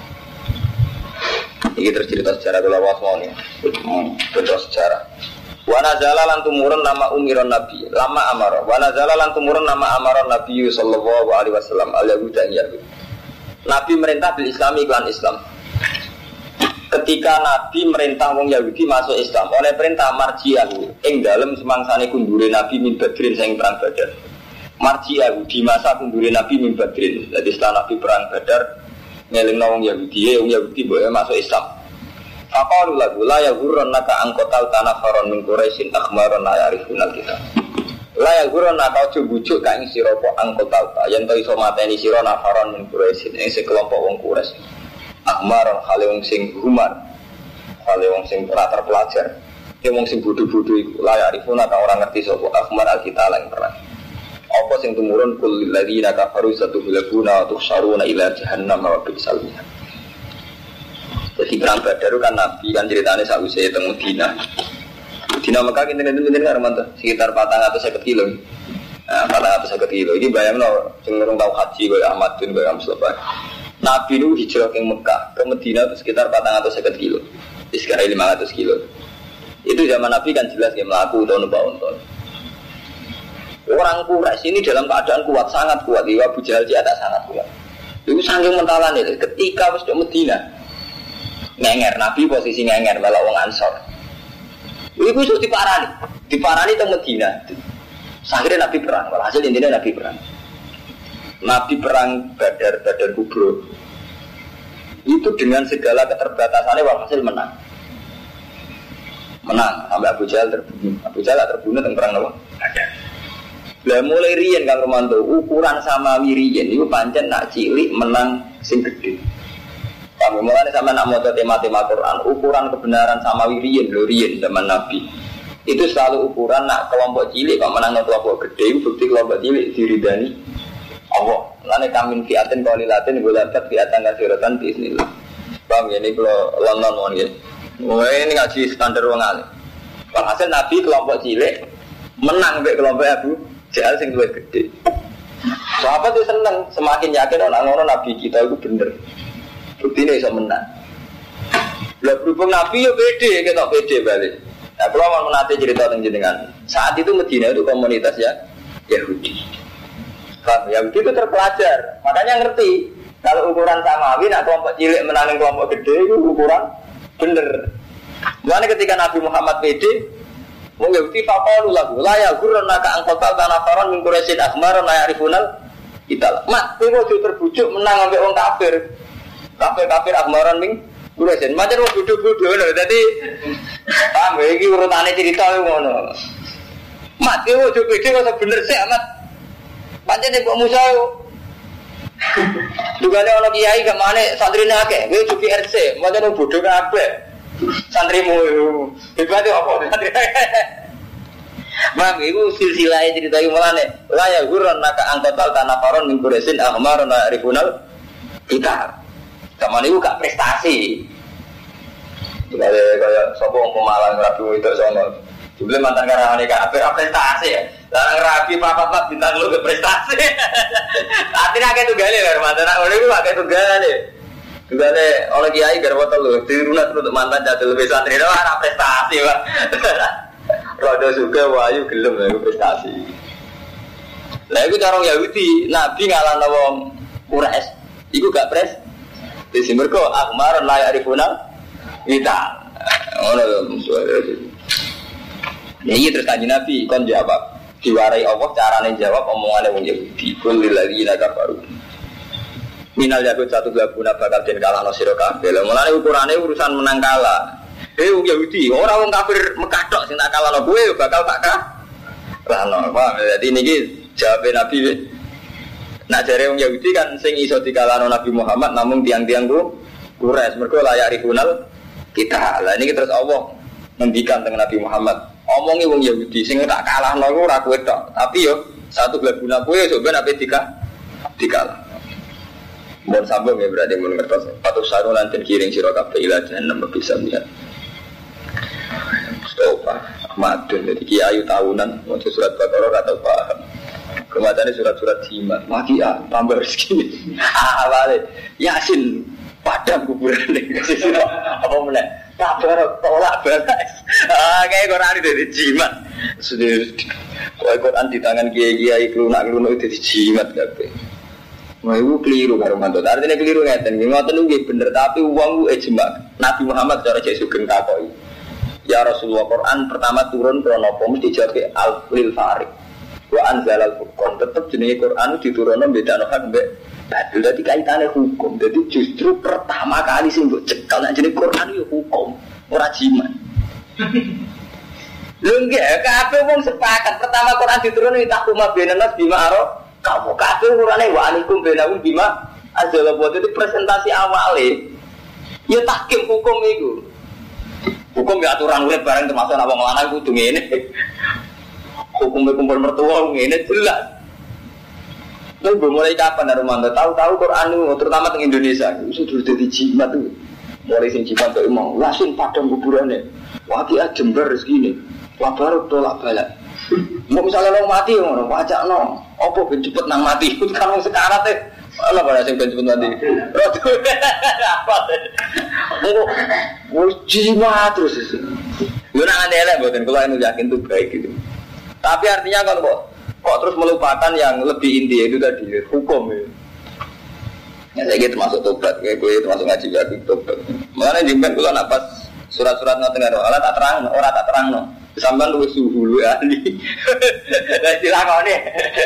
Iki tercerita sejarah kula wasmone. Betul sejarah. Wa nazala lan tumurun nama umiron nabi lama amara. Wa nazala lan tumurun nama amaron nabi sallallahu alaihi wasallam al yahuda yahud. Nabi merintah bil Islami iklan Islam. Ketika Nabi merintah wong Yahudi masuk Islam, oleh perintah marji'ahu ing dalem semangsane kundure Nabi min Badrin sing perang Badar. Marji'ahu di masa kundure Nabi min Badrin. Jadi setelah Nabi perang Badar ngelingno wong Yahudi, wong Yahudi boleh masuk Islam. Faqalu lahu la yaghurrannaka angqatal tanafaron min Quraisyin akhmaron la ya'rifunal kitab. La yaghurrannaka ojo bujuk ka ing sira apa angqatal yen to iso mateni sira nafaron min Quraisyin ing sekelompok wong Quraisy. Akhmaron khale wong sing humar. Khale wong sing ora terpelajar. Ki wong sing bodho-bodho iku la ya'rifuna ka ora ngerti sapa akhmar al-kitab lan perang. Apa sing tumurun kul ladzina kafaru satubulaguna wa tuhsaruna ila jahannam wa bi'sal mihad. Jadi perang Badar kan Nabi kan ceritanya sausé teng Madinah. Dina Mekah kinten-kinten Armanto sekitar empat ratus lima puluh kilo. Nah, empat ratus lima puluh kilo. Iki bayangno sing urung tau haji kaya Ahmad bin Bayam Mustafa. Nabi nu hijrah ke Mekah ke Madinah itu sekitar empat ratus lima puluh kilo. Sekarang lima ratus kilo. Itu zaman Nabi kan jelas dia melaku atau numpak unta. Orang Quraisy ini dalam keadaan kuat, sangat kuat. Iya Abu Jahal di atas sangat kuat. Itu saking mentalan itu ketika wis di Madinah. Ngenger Nabi posisi ngenger malah wong Ansor. Iku iso diparani, diparani teng Madinah. Akhirnya Nabi perang, hasil intinya Nabi perang. Nabi perang Badar, Badar Kubro. Itu dengan segala keterbatasannya walhasil menang. Menang sampai Abu Jahal terbunuh. Abu Jahal terbunuh teng perang apa? Badar. Lah mulai riyen Kang Romanto, ukuran sama wiriyen iku pancen nak cilik menang sing gedhe. Kami mulai sama nak maca tema-tema Quran, ukuran kebenaran sama wiriyen lho riyen zaman Nabi. Itu selalu ukuran nak kelompok cilik kok menang kelompok gede, bukti kelompok cilik diridani Allah. Lane kamin fiatin qalilatin gulatat fiatan kasiratan bismillah. Paham ya ini kalau London mon nggih. Oh ini ngaji standar wong alim. Walhasil Nabi kelompok cilik menang mbek kelompok Abu Jahal sing luwih gede. Sahabat itu seneng, semakin yakin orang orang Nabi kita itu bener. Buktinya bisa menang. Lah berhubung Nabi ya pede, kita pede balik. Nah, kalau mau menanti cerita tentang jenengan, saat itu Medina itu komunitas ya Yahudi. Kan Yahudi itu terpelajar, makanya ngerti kalau ukuran samawi, nak kelompok cilik menangin kelompok gede itu ukuran bener. Makanya ketika Nabi Muhammad pede, mau Yahudi faqalu lahu la yaghurrana ka angqatal tanafaron min quraisyin akhmar la ya'rifunal kita. Mat, kowe ojo terbujuk menang ambek wong kafir. Kafir-kafir akhmaran min quraisyin. Macam wong bodho-bodho lho. Dadi paham iki urutane cerita ngono. Mat, kowe ojo pede kok bener sik amat. Pancene kok Musa yo. Dugane ana kiai gak mane santrine akeh, kowe ojo R C, macam bodho kabeh. Santrimu hebat apa santri Mam iku silsilah cerita iki mulane la ya gurun naka angkotal tanafaron min quraisin ahmarun rifunal kita kamane iku gak prestasi kaya kaya sapa wong Pemalang rabi itu sono jebule mantan karane kabeh prestasi ya lan rabi papat-papat bintang lu ke prestasi artinya akeh tunggale lho mantan ora iku akeh tunggale Gane oleh kiai garwa telu dirunat untuk mantan jadul lebih santri itu ada prestasi Pak. Rodo juga wayu gelem ya prestasi. Lah iku cara Yahudi, Nabi ngalahno wong Quraisy. Iku gak pres. Wis mergo akmar la yarifuna kita. Ngono lho suara. Ya iya terus kanjeng Nabi kon jawab. Diwarai Allah carane jawab omongane wong Yahudi. Kul lil ladzina kafaru. Minal yakut satu gabuna bakal den kalah no sira kabeh. Lah mulane ukurane urusan menang kalah. Eh wong Yahudi, ora wong kafir Mekah tok sing tak kalahno kowe bakal tak kalahno. Paham? Dadi niki jawabe Nabi. Nak jare wong Yahudi kan sing iso dikalahno Nabi Muhammad namung tiang-tiang ku Quraisy mergo layak rikunal kita. Lah niki terus Allah ngendikan dengan Nabi Muhammad. Omongi wong Yahudi sing tak kalahno iku ora kowe tok, tapi yo satu gabuna kowe coba nek dika dikalah. Mohon sambung ya berarti mohon ngertos. Patuh sarulan dan kiring sira kabeh ila jahannam bisa lihat. Stop. Madun jadi kiai tahunan mau surat Baqarah atau paham. Kematiannya surat-surat jimat. Makia tambah rezeki. Ah balik. Yasin padang kuburan ini. Apa mana? Kabar tolak balas. Ah kayak Quran dari jimat. Sudah. Quran di tangan kiai-kiai kelunak-kelunak itu jimat kabeh. Wah itu keliru karo mantu. Artinya keliru ngeten. Ngoten nggih bener tapi wong ku ijma. Nabi Muhammad cara Yesus sugeng takoki. Ya Rasulullah Quran pertama turun krana apa mesti dijawab al-lil farid. Wa anzalal furqan. Tetep jenenge Quran diturunno bedano hak mbek badhe dadi kaitane hukum. Jadi justru pertama kali sing mbok cekal nek jenenge Quran yo hukum, ora jimat. Lho nggih kabeh wong sepakat pertama Quran diturunno takuma benanas bima aro kamu kabeh urane wa alaikum benahum bima azala buat itu presentasi awale. Ya tahkim hukum itu. Hukum ya aturan urip bareng termasuk apa ngelanang kudu ngene. Hukum kumpul mertua ngene jelas. Lalu mulai kapan Armando tahu-tahu Quran itu terutama di Indonesia itu sudah jadi jimat tuh. Mulai sing jimat tuh emang langsung padang kuburannya. Wati Jember segini. Wah baru tolak balik. Mau misalnya lo mati ngono, wajak no, opo ben cepet nang mati. Kan wong sekarat teh. Ana bara sing ben cepet mati. Apa teh? Engko wis jimat terus. Yo nang elek mboten kula anu yakin itu baik gitu. Tapi artinya kan kok kok terus melupakan yang lebih inti itu tadi hukum ya. Ya saya gitu termasuk tobat, kayak gue termasuk ngaji aku tobat. Makanya jemben kula nak pas surat-surat ngoten karo Allah tak terang, ora tak terangno. Sampai lu suhu lu ahli, dan dilakoni.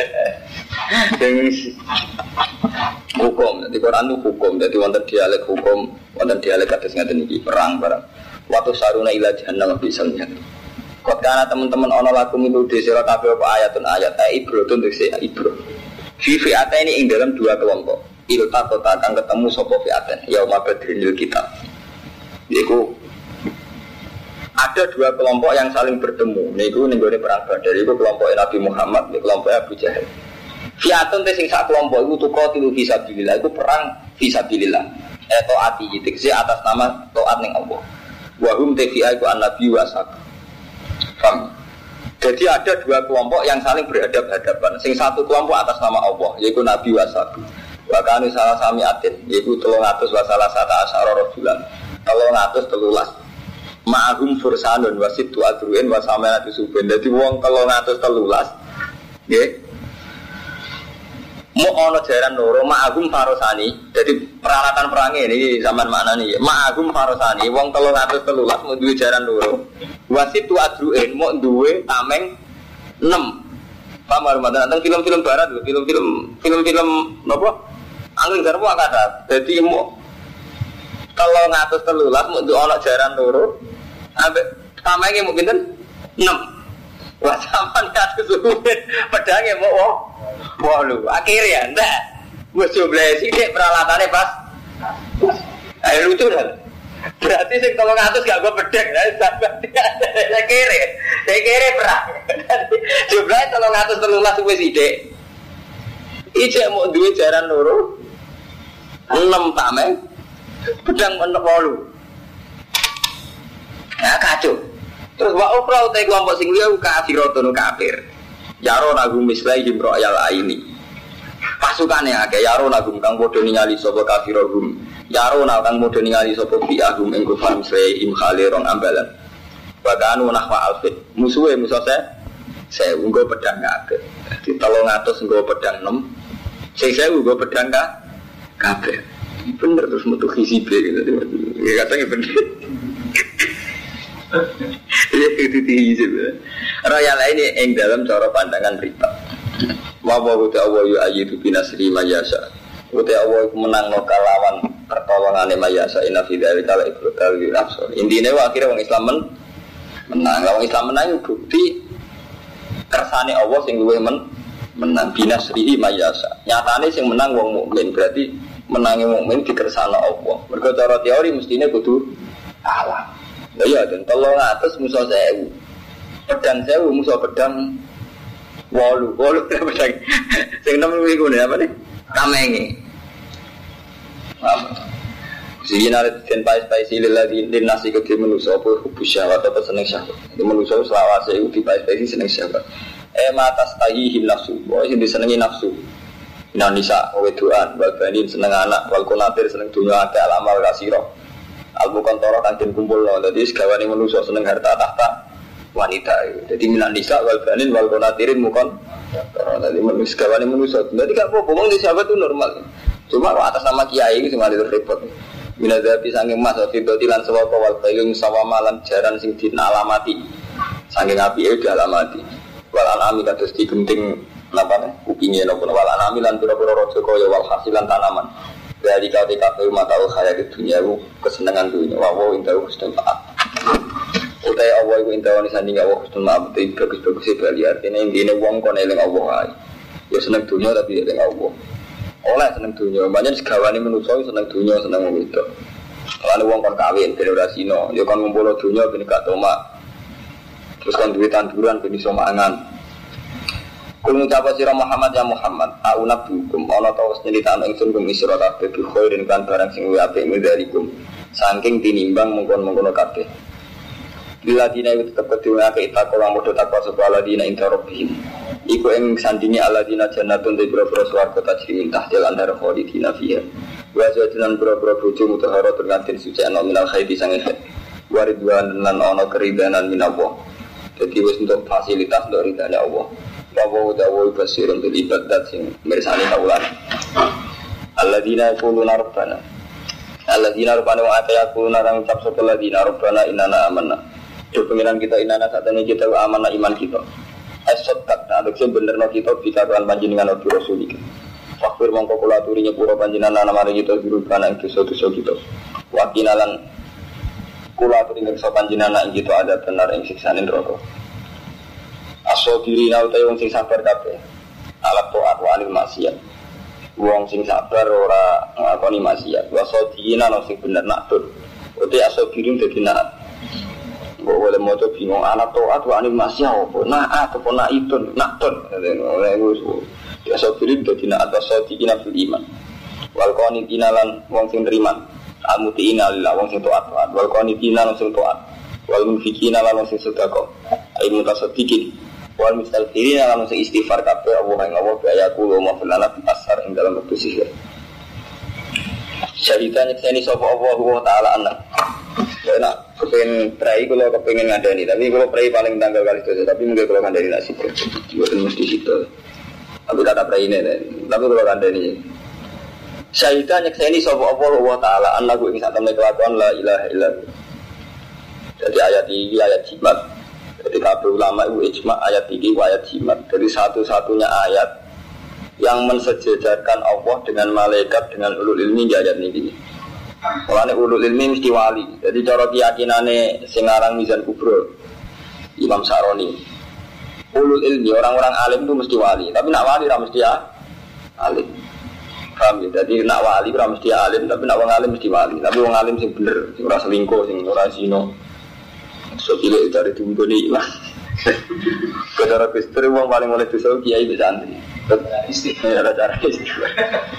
Hukum, jadi Quran itu hukum, jadi wonten dialek hukum, wonten dialek atas ngaten iki perang barang. Waktu saruna ila jahannam bisa lihat. Kot karena teman-teman ono lakum itu desira kabeh apa ayatun ayat ibro tun dese ibro. Fi fi'ata ini ing dalam dua kelompok. Ilta kota akan ketemu sapa fi'atan yauma badril kita. Yaiku ada dua kelompok yang saling bertemu. Niku ning gone perang Badar iku kelompok Nabi Muhammad, ning kelompok Abu Jahal. Fiatun te sing sak kelompok iku tuqatilu fi sabilillah, iku perang fi sabilillah. Eh taati iki atas nama taat ning Allah. Wa hum te fi iku an-nabi wa sak. Paham? Jadi ada dua kelompok yang saling berhadap-hadapan. Sing satu kelompok atas nama Allah, yaitu Nabi Wasabi. Bahkan salah sami atin, yaitu telung atus wasalah sata asyara rojulan. Telung atus telulas. Ma'agum fursanun wasid tu adruin wasamenatu suben. Jadi wong telung atus telulas. Nggih. Mau ono jaran loro ma'agum farosani. Jadi peralatan perangnya ini zaman maknani. Ma'agum farosani. Wong telung atus telulas mau duwe jaran loro. Wasit tu adruin mau duwe tameng enam. Paham Ramadan tentang film-film barat, film-film film-film apa? Angin garpu akada. Jadi mau telung atus telulas mau duwe ono jaran loro. Ambek tamenge mau pinten? enam. Wah sampean kados suwen pedange mau oh. Wah lu, akhirnya enggak. Wes jumlah sithik peralatannya pas. Ayo lucu kan. Berarti sing telung atus gak go pedang, saya kere. Saya kere perang. Jumlahnya telung atus telulas wis sithik. Ijek mau duwe jaran loro. enam tameng. Pedang menep wolu. Nah kacau. Terus wa ukra utai kelompok sing liya kafiratun kafir. Yaro nagum mislaihim ro'yal aini. Pasukannya akeh yaro nagum kang padha ningali sapa kafirahum. Yaro nang kang padha ningali sapa bi'ahum ing kufar mislaihim khalirong ambalan. Baganu nahwa alfit. Musuhe musuh saya saya nggo pedang kabeh. Di telung atus nggo pedang enam. Sing saya nggo pedang kabeh. Bener terus metu hizib gitu. Ya katanya bener. Iya itu hizib. Royal ini yang dalam cara pandangan riba. Wawa uti Allah yu ayyidu binasri mayasa. Uti Allah menang no kalawan pertolongan mayasa. Inna fidari kala ibrotal yu nafsul. Intinya akhirnya orang Islam men menang. Orang Islam menang bukti kersane Allah sing luwih men menang binasri mayasa. Nyatane sing menang wong mukmin berarti menangi mukmin dikersane Allah. Mergo cara teori mestine kudu Allah. Lah iya den telung atus musuh sewu. Pedang sewu musuh pedang wolu. Wolu pedang. Sing enam iku ne apa ne? Tamenge. Apa? Sing ana den pai-pai silil lagi den nasi ke manusa apa hubus syahwat apa seneng syahwat. Di manusa selawase iku di pai-pai seneng syahwat. Eh matas tahihi nafsu. Wah sing disenengi nafsu. Indonesia wedoan, balbanin seneng anak, wal kunatir seneng dunya akeh alamal kasira. Al-bukan toro kantin kumpul loh, jadi segawane manusia seneng harta tahta wanita. Jadi minan nisa wal banin wal konatirin mukon. Jadi manusia segawane manusia. Jadi gak apa-apa, ngomong di sahabat itu normal. Cuma atas nama kiai itu cuma itu repot. Minadabi sanging mas wafidoti lan sewaka wal bailung sawamalan jaran sing dina alamati. Sanging api itu dialamati. Wal anami kados digenting napa nih? Kupingnya nopo wal anami lan pira-pira raja kaya wal hasilan tanaman. Dari kau tidak tahu mata khayal dunia itu kesenangan dunia. Wawo intahu kusnul maaf. Utai Allah itu intahu nisanding Allah kusnul maaf. Itu bagus-bagus sih bali artinya intinya wong kon eling Allah. Ya senang dunia tapi eling Allah. Oleh senang dunia. Banyak segawani manusia senang dunia senang itu. Kalau wong kon kawin generasino, ya kon ngumpul dunia ben gak tomak. Terus kon duwe tanduran ben iso mangan. Kul ngucapa sira Muhammad ya Muhammad, aunab hukum ana ta wis nyritakno ingsun kum isra kabeh bi khairin kan barang sing luwih apik midarikum. Saking tinimbang mengkon-mengkono kabeh. Bila dina itu tetep kedua ke itakola modho takwa sapa ladina inta rabbihim. Iku ing sandinge aladina jannatun de boro-boro swarga tajri min tahtil andar khalidina fiha. Wa zajinan boro-boro bojo mutahara tergantin suci ana minal khairi sange waridwan lan ana keridanan minallah. Jadi wis untuk fasilitas dari ridane Allah. Bahwa dawa basirun bil ibadat sing mirsani kaulan. Alladzina yaquluna rabbana. Alladzina rabbana wa atayaquluna ran ucap sapa alladzina rabbana inna amanna. Jo pengiran kita inana satene kita amanah iman kita. As-saddaq adekse benerno kita bikaran panjenengan Nabi Rasul iki. Fakir mongko kula aturi nyepuro panjenengan namare kita dirubana ing dosa-dosa kita. Wa kinalan kula aturi ngersa panjenengan ing kita ada benar ing siksane neraka. Asobiri na utai wong sing sabar kabeh. Alat to'at wa anil maksiat. Wong sing sabar ora ngakoni maksiat. Wa sodina no sing bener naktur. Utai asobirin dadi naat. Kok boleh moco bingung alat to'at wa anil maksiat apa? Naat apa naitun? Naktun. Asobirin dadi naat wa sodina fil iman. Wal qanitina lan wong sing neriman. Al-muti'ina lillah wong sing to'at. Wal qanitina lan sing to'at. Wal munfikina lan wong sing sedekah. Ai mutasaddiqin wal mustaghfirin lan sing istighfar kabeh Allah ing Allah ya kulo maflana asar ing dalam waktu sihir. Syahidan ini sapa Allah taala anak. Ya nak kepengen prai kalau kepengen ngadani, tapi kalau prai paling tanggal kali itu, tapi mungkin kalau ngandani nasi bukan mesti situ. Tapi tak ada prai ini, tapi kalau ngandani. Syahidan ini sapa Allah taala anak gue ingat temen kelakuan la ilaha illallah. Jadi ayat ini ayat jimat. Jadi kabeh ulama itu ijma ayat ini ayat jimat. Jadi satu-satunya ayat yang mensejajarkan Allah dengan malaikat dengan ulul ilmi di ayat ini. Mulane ulul ilmi mesti wali. Jadi cara keyakinane sing aran Mizan Kubro Imam Saroni. Ulul ilmi orang-orang alim itu mesti wali, tapi nak wali ora mesti ya alim. Paham ya? Jadi nak wali ora mesti alim, tapi nak wong alim mesti wali. Tapi wong alim sing bener, sing ora selingkuh, sing ora zina. So pilih dari tunggone ilang. Kadara Gusti wong paling oleh dosa kiai bisa antri. Istighfar ada cara istighfar.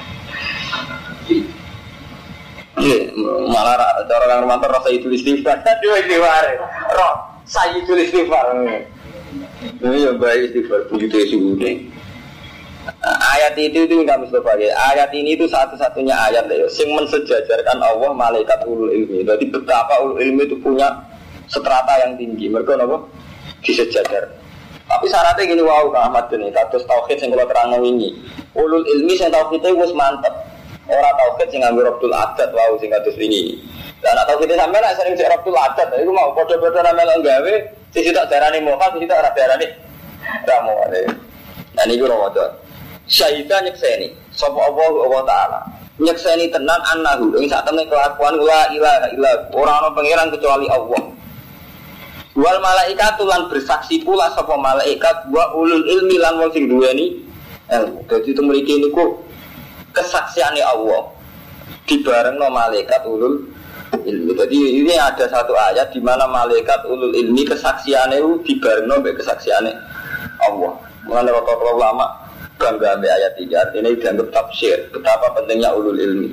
Iya, malah cara orang romantis rasa itu istighfar. Dua istighfar. Roh, saya itu istighfar. Ini yang baik istighfar begitu sudah. Ayat itu itu nggak mesti pakai. Ayat ini itu satu-satunya ayat deh, yang mensejajarkan Allah malaikat ulul ilmi. Jadi betapa ulul ilmi itu punya strata yang tinggi. Mereka apa? Disejajar. Tapi syaratnya gini, wow, Kang Ahmad ini, kados tauhid yang kalau terang ini, ulul ilmi yang tauhidnya wis mantep. Orang tauhid yang ngambil Rabtul Adat, wow, yang kados ini. Dan anak tauhidnya sampai lah sering cek Rabtul Adat, itu mau bodoh-bodoh namanya nggawe, sisi tak darani moha, sisi tak darani ramu. Nah ini gue Ramadan. Syahidah nyekseni, sapa Allah Allah Ta'ala. Nyekseni tenan annahu, ini saat temen kelakuan la ilaha illa orang-orang pangeran kecuali Allah. Wal malaikat lan bersaksi pula sapa malaikat wa ulul ilmi lan wong sing duweni ilmu. Dadi itu mriki niku kesaksiane Allah dibarengno malaikat ulul ilmi. Jadi ini ada satu ayat di mana malaikat ulul ilmi kesaksiane dibarengno mbek kesaksiane Allah. Mulane rata-rata ulama bangga mbek ayat iki. Artinya dianggap tafsir betapa pentingnya ulul ilmi.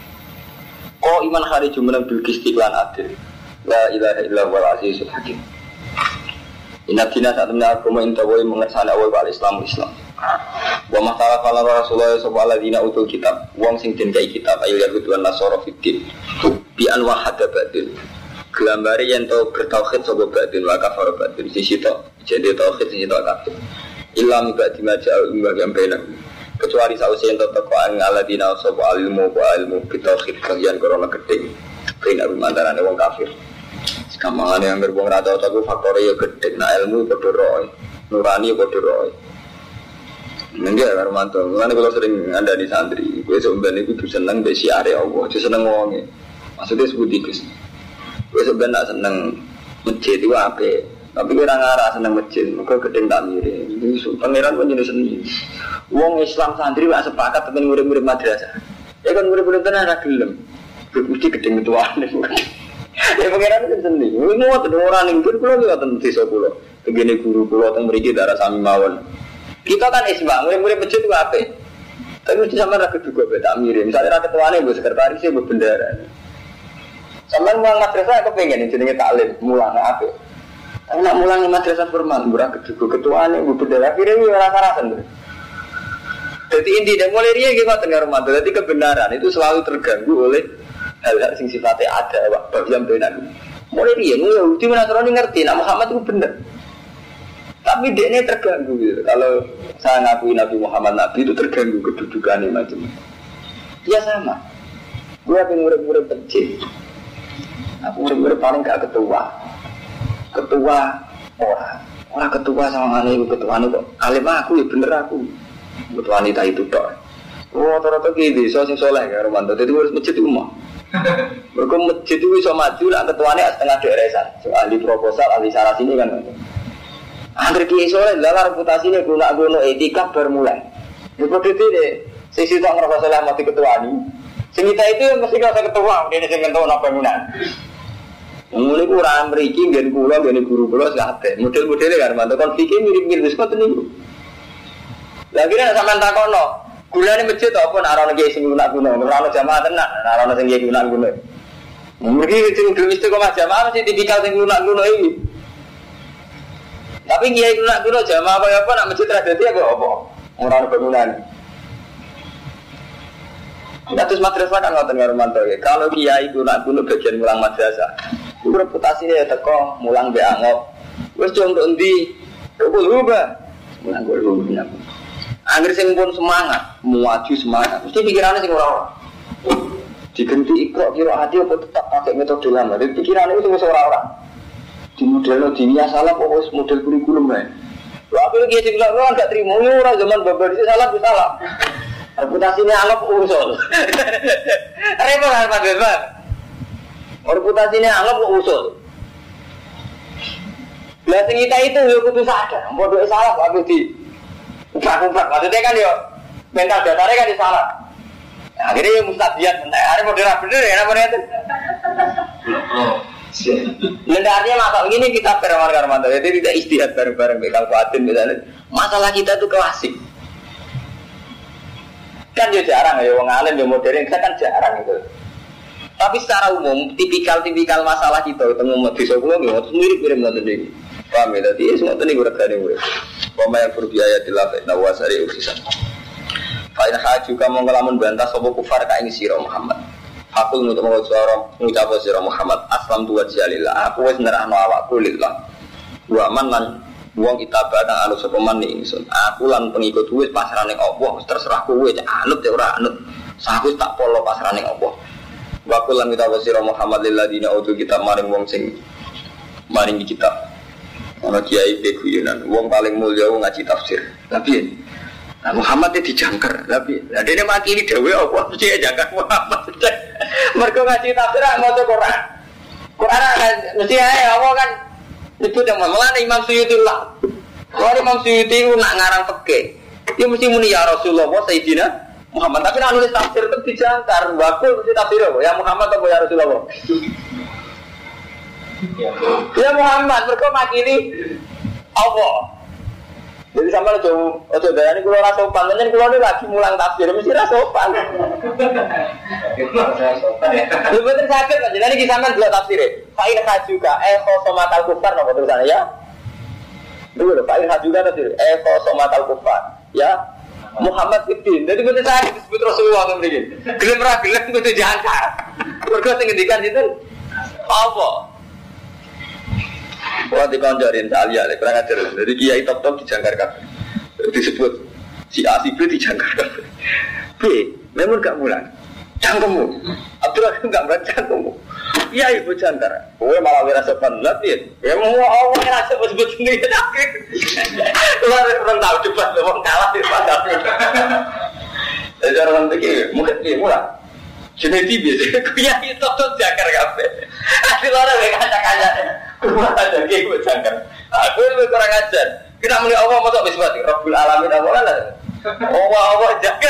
Kok iman hari jumeneng bil istiqlan adil. La ilaha illallah azizul hakim. Inna dina saat menakuma intawai mengersana awal wal Islam Islam. Wa masalah kalau Rasulullah sallallahu alaihi wasallam utul kitab, wong sing den kai kitab ayat Yahudan Nasara fitin. Bi anwa hada batil. Gelambare yen to bertauhid sapa batin wa kafar batin sisi to. Jadi tauhid sisi to kafir. Illam ba'di ma ja'a yang benar. Kecuali sausi yen to teko aladina sapa ilmu wa ilmu bitauhid kalian corona gedhe. Benar mantarane wong kafir. Gampangane yang berbong rata otak faktor ya gede, nah ilmu padha roe, nurani padha roe. Nggih Armanto, ngene kalau sering ada di santri, kowe sampeyan iku seneng mbek siare Allah, aja seneng wonge. Maksudnya sebuti Gus. Kowe sampeyan nak seneng masjid iku apik, tapi kowe ora ngarah seneng masjid, muga gedeng tak mire. Iki pangeran panjenengan seni. Wong Islam santri wak sepakat temen murid-murid madrasah. Ya kan murid-murid tenan ra gelem. Mesti gedeng tuane. Ya pengiran itu sendiri. Ini mau ada orang yang pun pulau juga tentu desa pulau. Begini guru pulau yang memiliki darah sami mawon. Kita kan isbang, mulai-mulai masjid itu apa? Tapi mesti sama rakyat juga beda mirip. Misalnya rakyat tuanya bu sekretarisnya bu bendera. Sama mulang madrasah aku pengen jenenge taklim mulang apa? Tapi nak mulang madrasah formal, bu rakyat juga ketuanya bu bendera. Akhirnya ini rasa-rasa tuh. Jadi intinya mulai dia gimana tengah rumah. Jadi kebenaran itu selalu terganggu oleh hal-hal sing sifatnya ada bab yang benar. Mulai dia mulai di mana orang ngerti nak Muhammad itu benar. Tapi dia ini terganggu gitu. Kalau saya ngakui Nabi Muhammad Nabi itu terganggu kedudukannya macam. Ya sama. Gue pengen murid-murid kecil. Aku murid-murid paling gak ketua. Ketua orang. Orang ketua sama aneh ketua itu alim aku ya bener aku. Ketua wanita itu dok. Oh rata-rata gitu. Soal sing soleh ya Romanto. Jadi harus masjid umum. Mereka masjid itu bisa maju lah ketuanya setengah deresan. So, ahli proposal, ahli syarat ini kan. Angger kiai soleh lah reputasinya guna-guna etika bermulai. Seperti itu deh. Sisi tak ngerasa soleh mati ketua ini. Semita itu mesti ngerasa ketua. Dia sing kentu nak bangunan. Mulai kurang meriki, gini pulau, gini guru pulau sekate. Model-modelnya kan, mantu konfliknya mirip-mirip seperti ini. Lagi nak sampai takono. Gula ni masjid apa nak orang lagi sing guna guna, orang jamaah tenak, orang sing lagi guna guna. Mungkin sing dulu istiqomah jamaah masih tipikal sing guna guna ini. Tapi kiai nak kuno jamaah apa apa nak masjid tradisi apa apa? Orang bangunan. Kita terus madrasah kan ngoten karo mantu ya. Kalau kiai kuno kuno bagian mulang madrasah, itu reputasinya ya teko mulang be angop. Wis jong tok endi? Kok lupa. Mulang kok lupa. Angger sing pun semangat, muaju semangat. Mesti pikirannya sing ora-ora. Digenti ikro kira hati apa tetap pakai metode lama. Jadi pikirannya itu wis ora-ora. Di model dunia salah kok wis model kurikulum bae. Lha aku iki sing lho gak trimo ora zaman babar iki salah ku salah. Reputasinya anggap usul. Repot kan Pak Bapak. Reputasinya anggap usul. Lah sing kita itu yo kudu sadar, bodoh salah kok aku di ubrak-ubrak. Maksudnya kan yo mental dasarnya kan salah. Nah, akhirnya yo mustabiat, hari model bener ya apa itu. Lendarnya masalah begini kita perawan karmanto, jadi tidak istihad bareng-bareng bekal kuatin misalnya. Masalah kita tuh klasik. Kan ya jarang ya, wong alim ya modern, kita kan jarang itu. Tapi secara umum, tipikal-tipikal masalah kita ketemu mau desa kula nggih mirip-mirip ngoten iki. Paham ya, dadi semua teni regane urip. Pemain berbiaya dilafet nawasari usisan. Fa in haju kamu ngelamun bantah sapa kufar ka ing sira Muhammad. Aku untuk mengucap suara mengucap sira Muhammad aslam tu wajhalillah. Aku wis nerahno awakku lillah. Wa man lan wong kita badang anu sapa man ingsun. Aku lan pengikut wis pasrane Allah, wis terserah kowe anut ya ora anut. Saku tak polo pasrane Allah. Wa kullan kita sira Muhammad lilladina utul kitab maring wong sing maring kitab. Ana kiai beguyunan, wong paling mulya wong ngaji tafsir. Tapi nah, Muhammad itu dijangkar, tapi ada yang makili dewi apa mesti jangkar Muhammad. Mereka ngaji tafsir mau tuh Quran, Quran kan mesti ya apa kan itu yang malah Imam Suyuti lah. Kalau Imam Suyuti itu nak ngarang fikih, dia mesti muni ya Rasulullah Sayyidina Muhammad. Tapi nak nulis tafsir itu dijangkar, bakul mesti tafsir apa? Ya Muhammad atau ya Rasulullah? Ya Muhammad, mereka makili Allah. Jadi sama lo ojo daya ini kalau rasa sopan, nanti kalau ini lagi mulang tafsir mesti rasa sopan. Lu betul sakit kan? Jadi ini sama dua tafsir. Fa'in hajuka eko somatal kufar nopo tulisannya ya. Dulu loh, fa'in hajuka tafsir eko somatal kufar ya. Muhammad Ibn. Jadi betul sakit disebut Rasulullah kan begini. Gelem ra gelem kudu jangkar. Mergo sing ngendikan itu apa? Wah dikonjorin salia, kurang ajar. Jadi kiai top-top dijangkar kabeh. Disebut si A si B dijangkar kabeh. B, memang gak mulan. Cangkemmu. Abdurrahim gak mulan cangkemmu. Iya ibu jangkar. Kowe malah wira sopan lagi. Ya mau Allah ora sebut sendiri akhir. Lu ora tahu cepat wong kalah di padang. Jadi orang begini, mungkin dia mulan. Jeneti biasa, kiai top-top jangkar kabeh. Asli ora wek kaca-kaca. Rumah ada kayak gue jangkar. Aku lebih kurang ajar. Kita melihat Allah mau tak bismati. Rabbul alamin Allah lah. Allah Allah jangkar.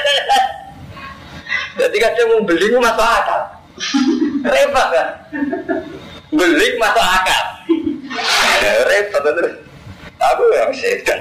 Jadi kadang mau beli itu masuk akal. Repot kan? Beli masuk akal. Repot terus. Aku yang setan.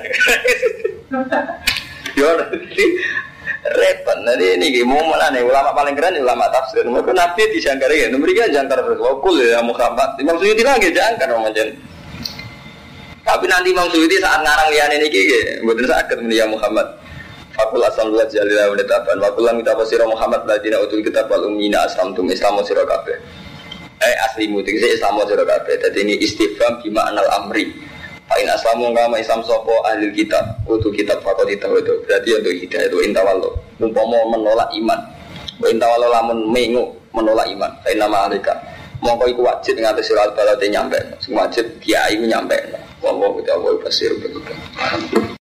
Yo nanti repot. Nanti ini gimana nih? Ulama paling keren ulama tafsir. Mereka nabi dijangkar ya. Mereka jangkar wakul ya Muhammad. Imam Suyuti lagi jangkar macam. Tapi nanti Imam Suyuti saat ngarang lian ini gini, betul sakit media Muhammad. Fakul asam dua jalilah menetapkan. Fakulah kita pasirah Muhammad ladina utul kitab wal ummina aslamtum Islamu sirakabe. Eh aslimu tinggi Islamu sirakabe. Jadi ini istifham bimakna al-amri. Fa'in aslamu ngama Islam sopo ahli kitab utul kitab fakul itu itu. Berarti untuk hidayah itu intawallo. Umpama menolak iman. Intawallo lamun mengu menolak iman. Fa'in nama alika. Mongko iku wajib ngatus surat balate nyampe. Sing wajib kiai nyampe. Wallahu ta'ala basir begitu.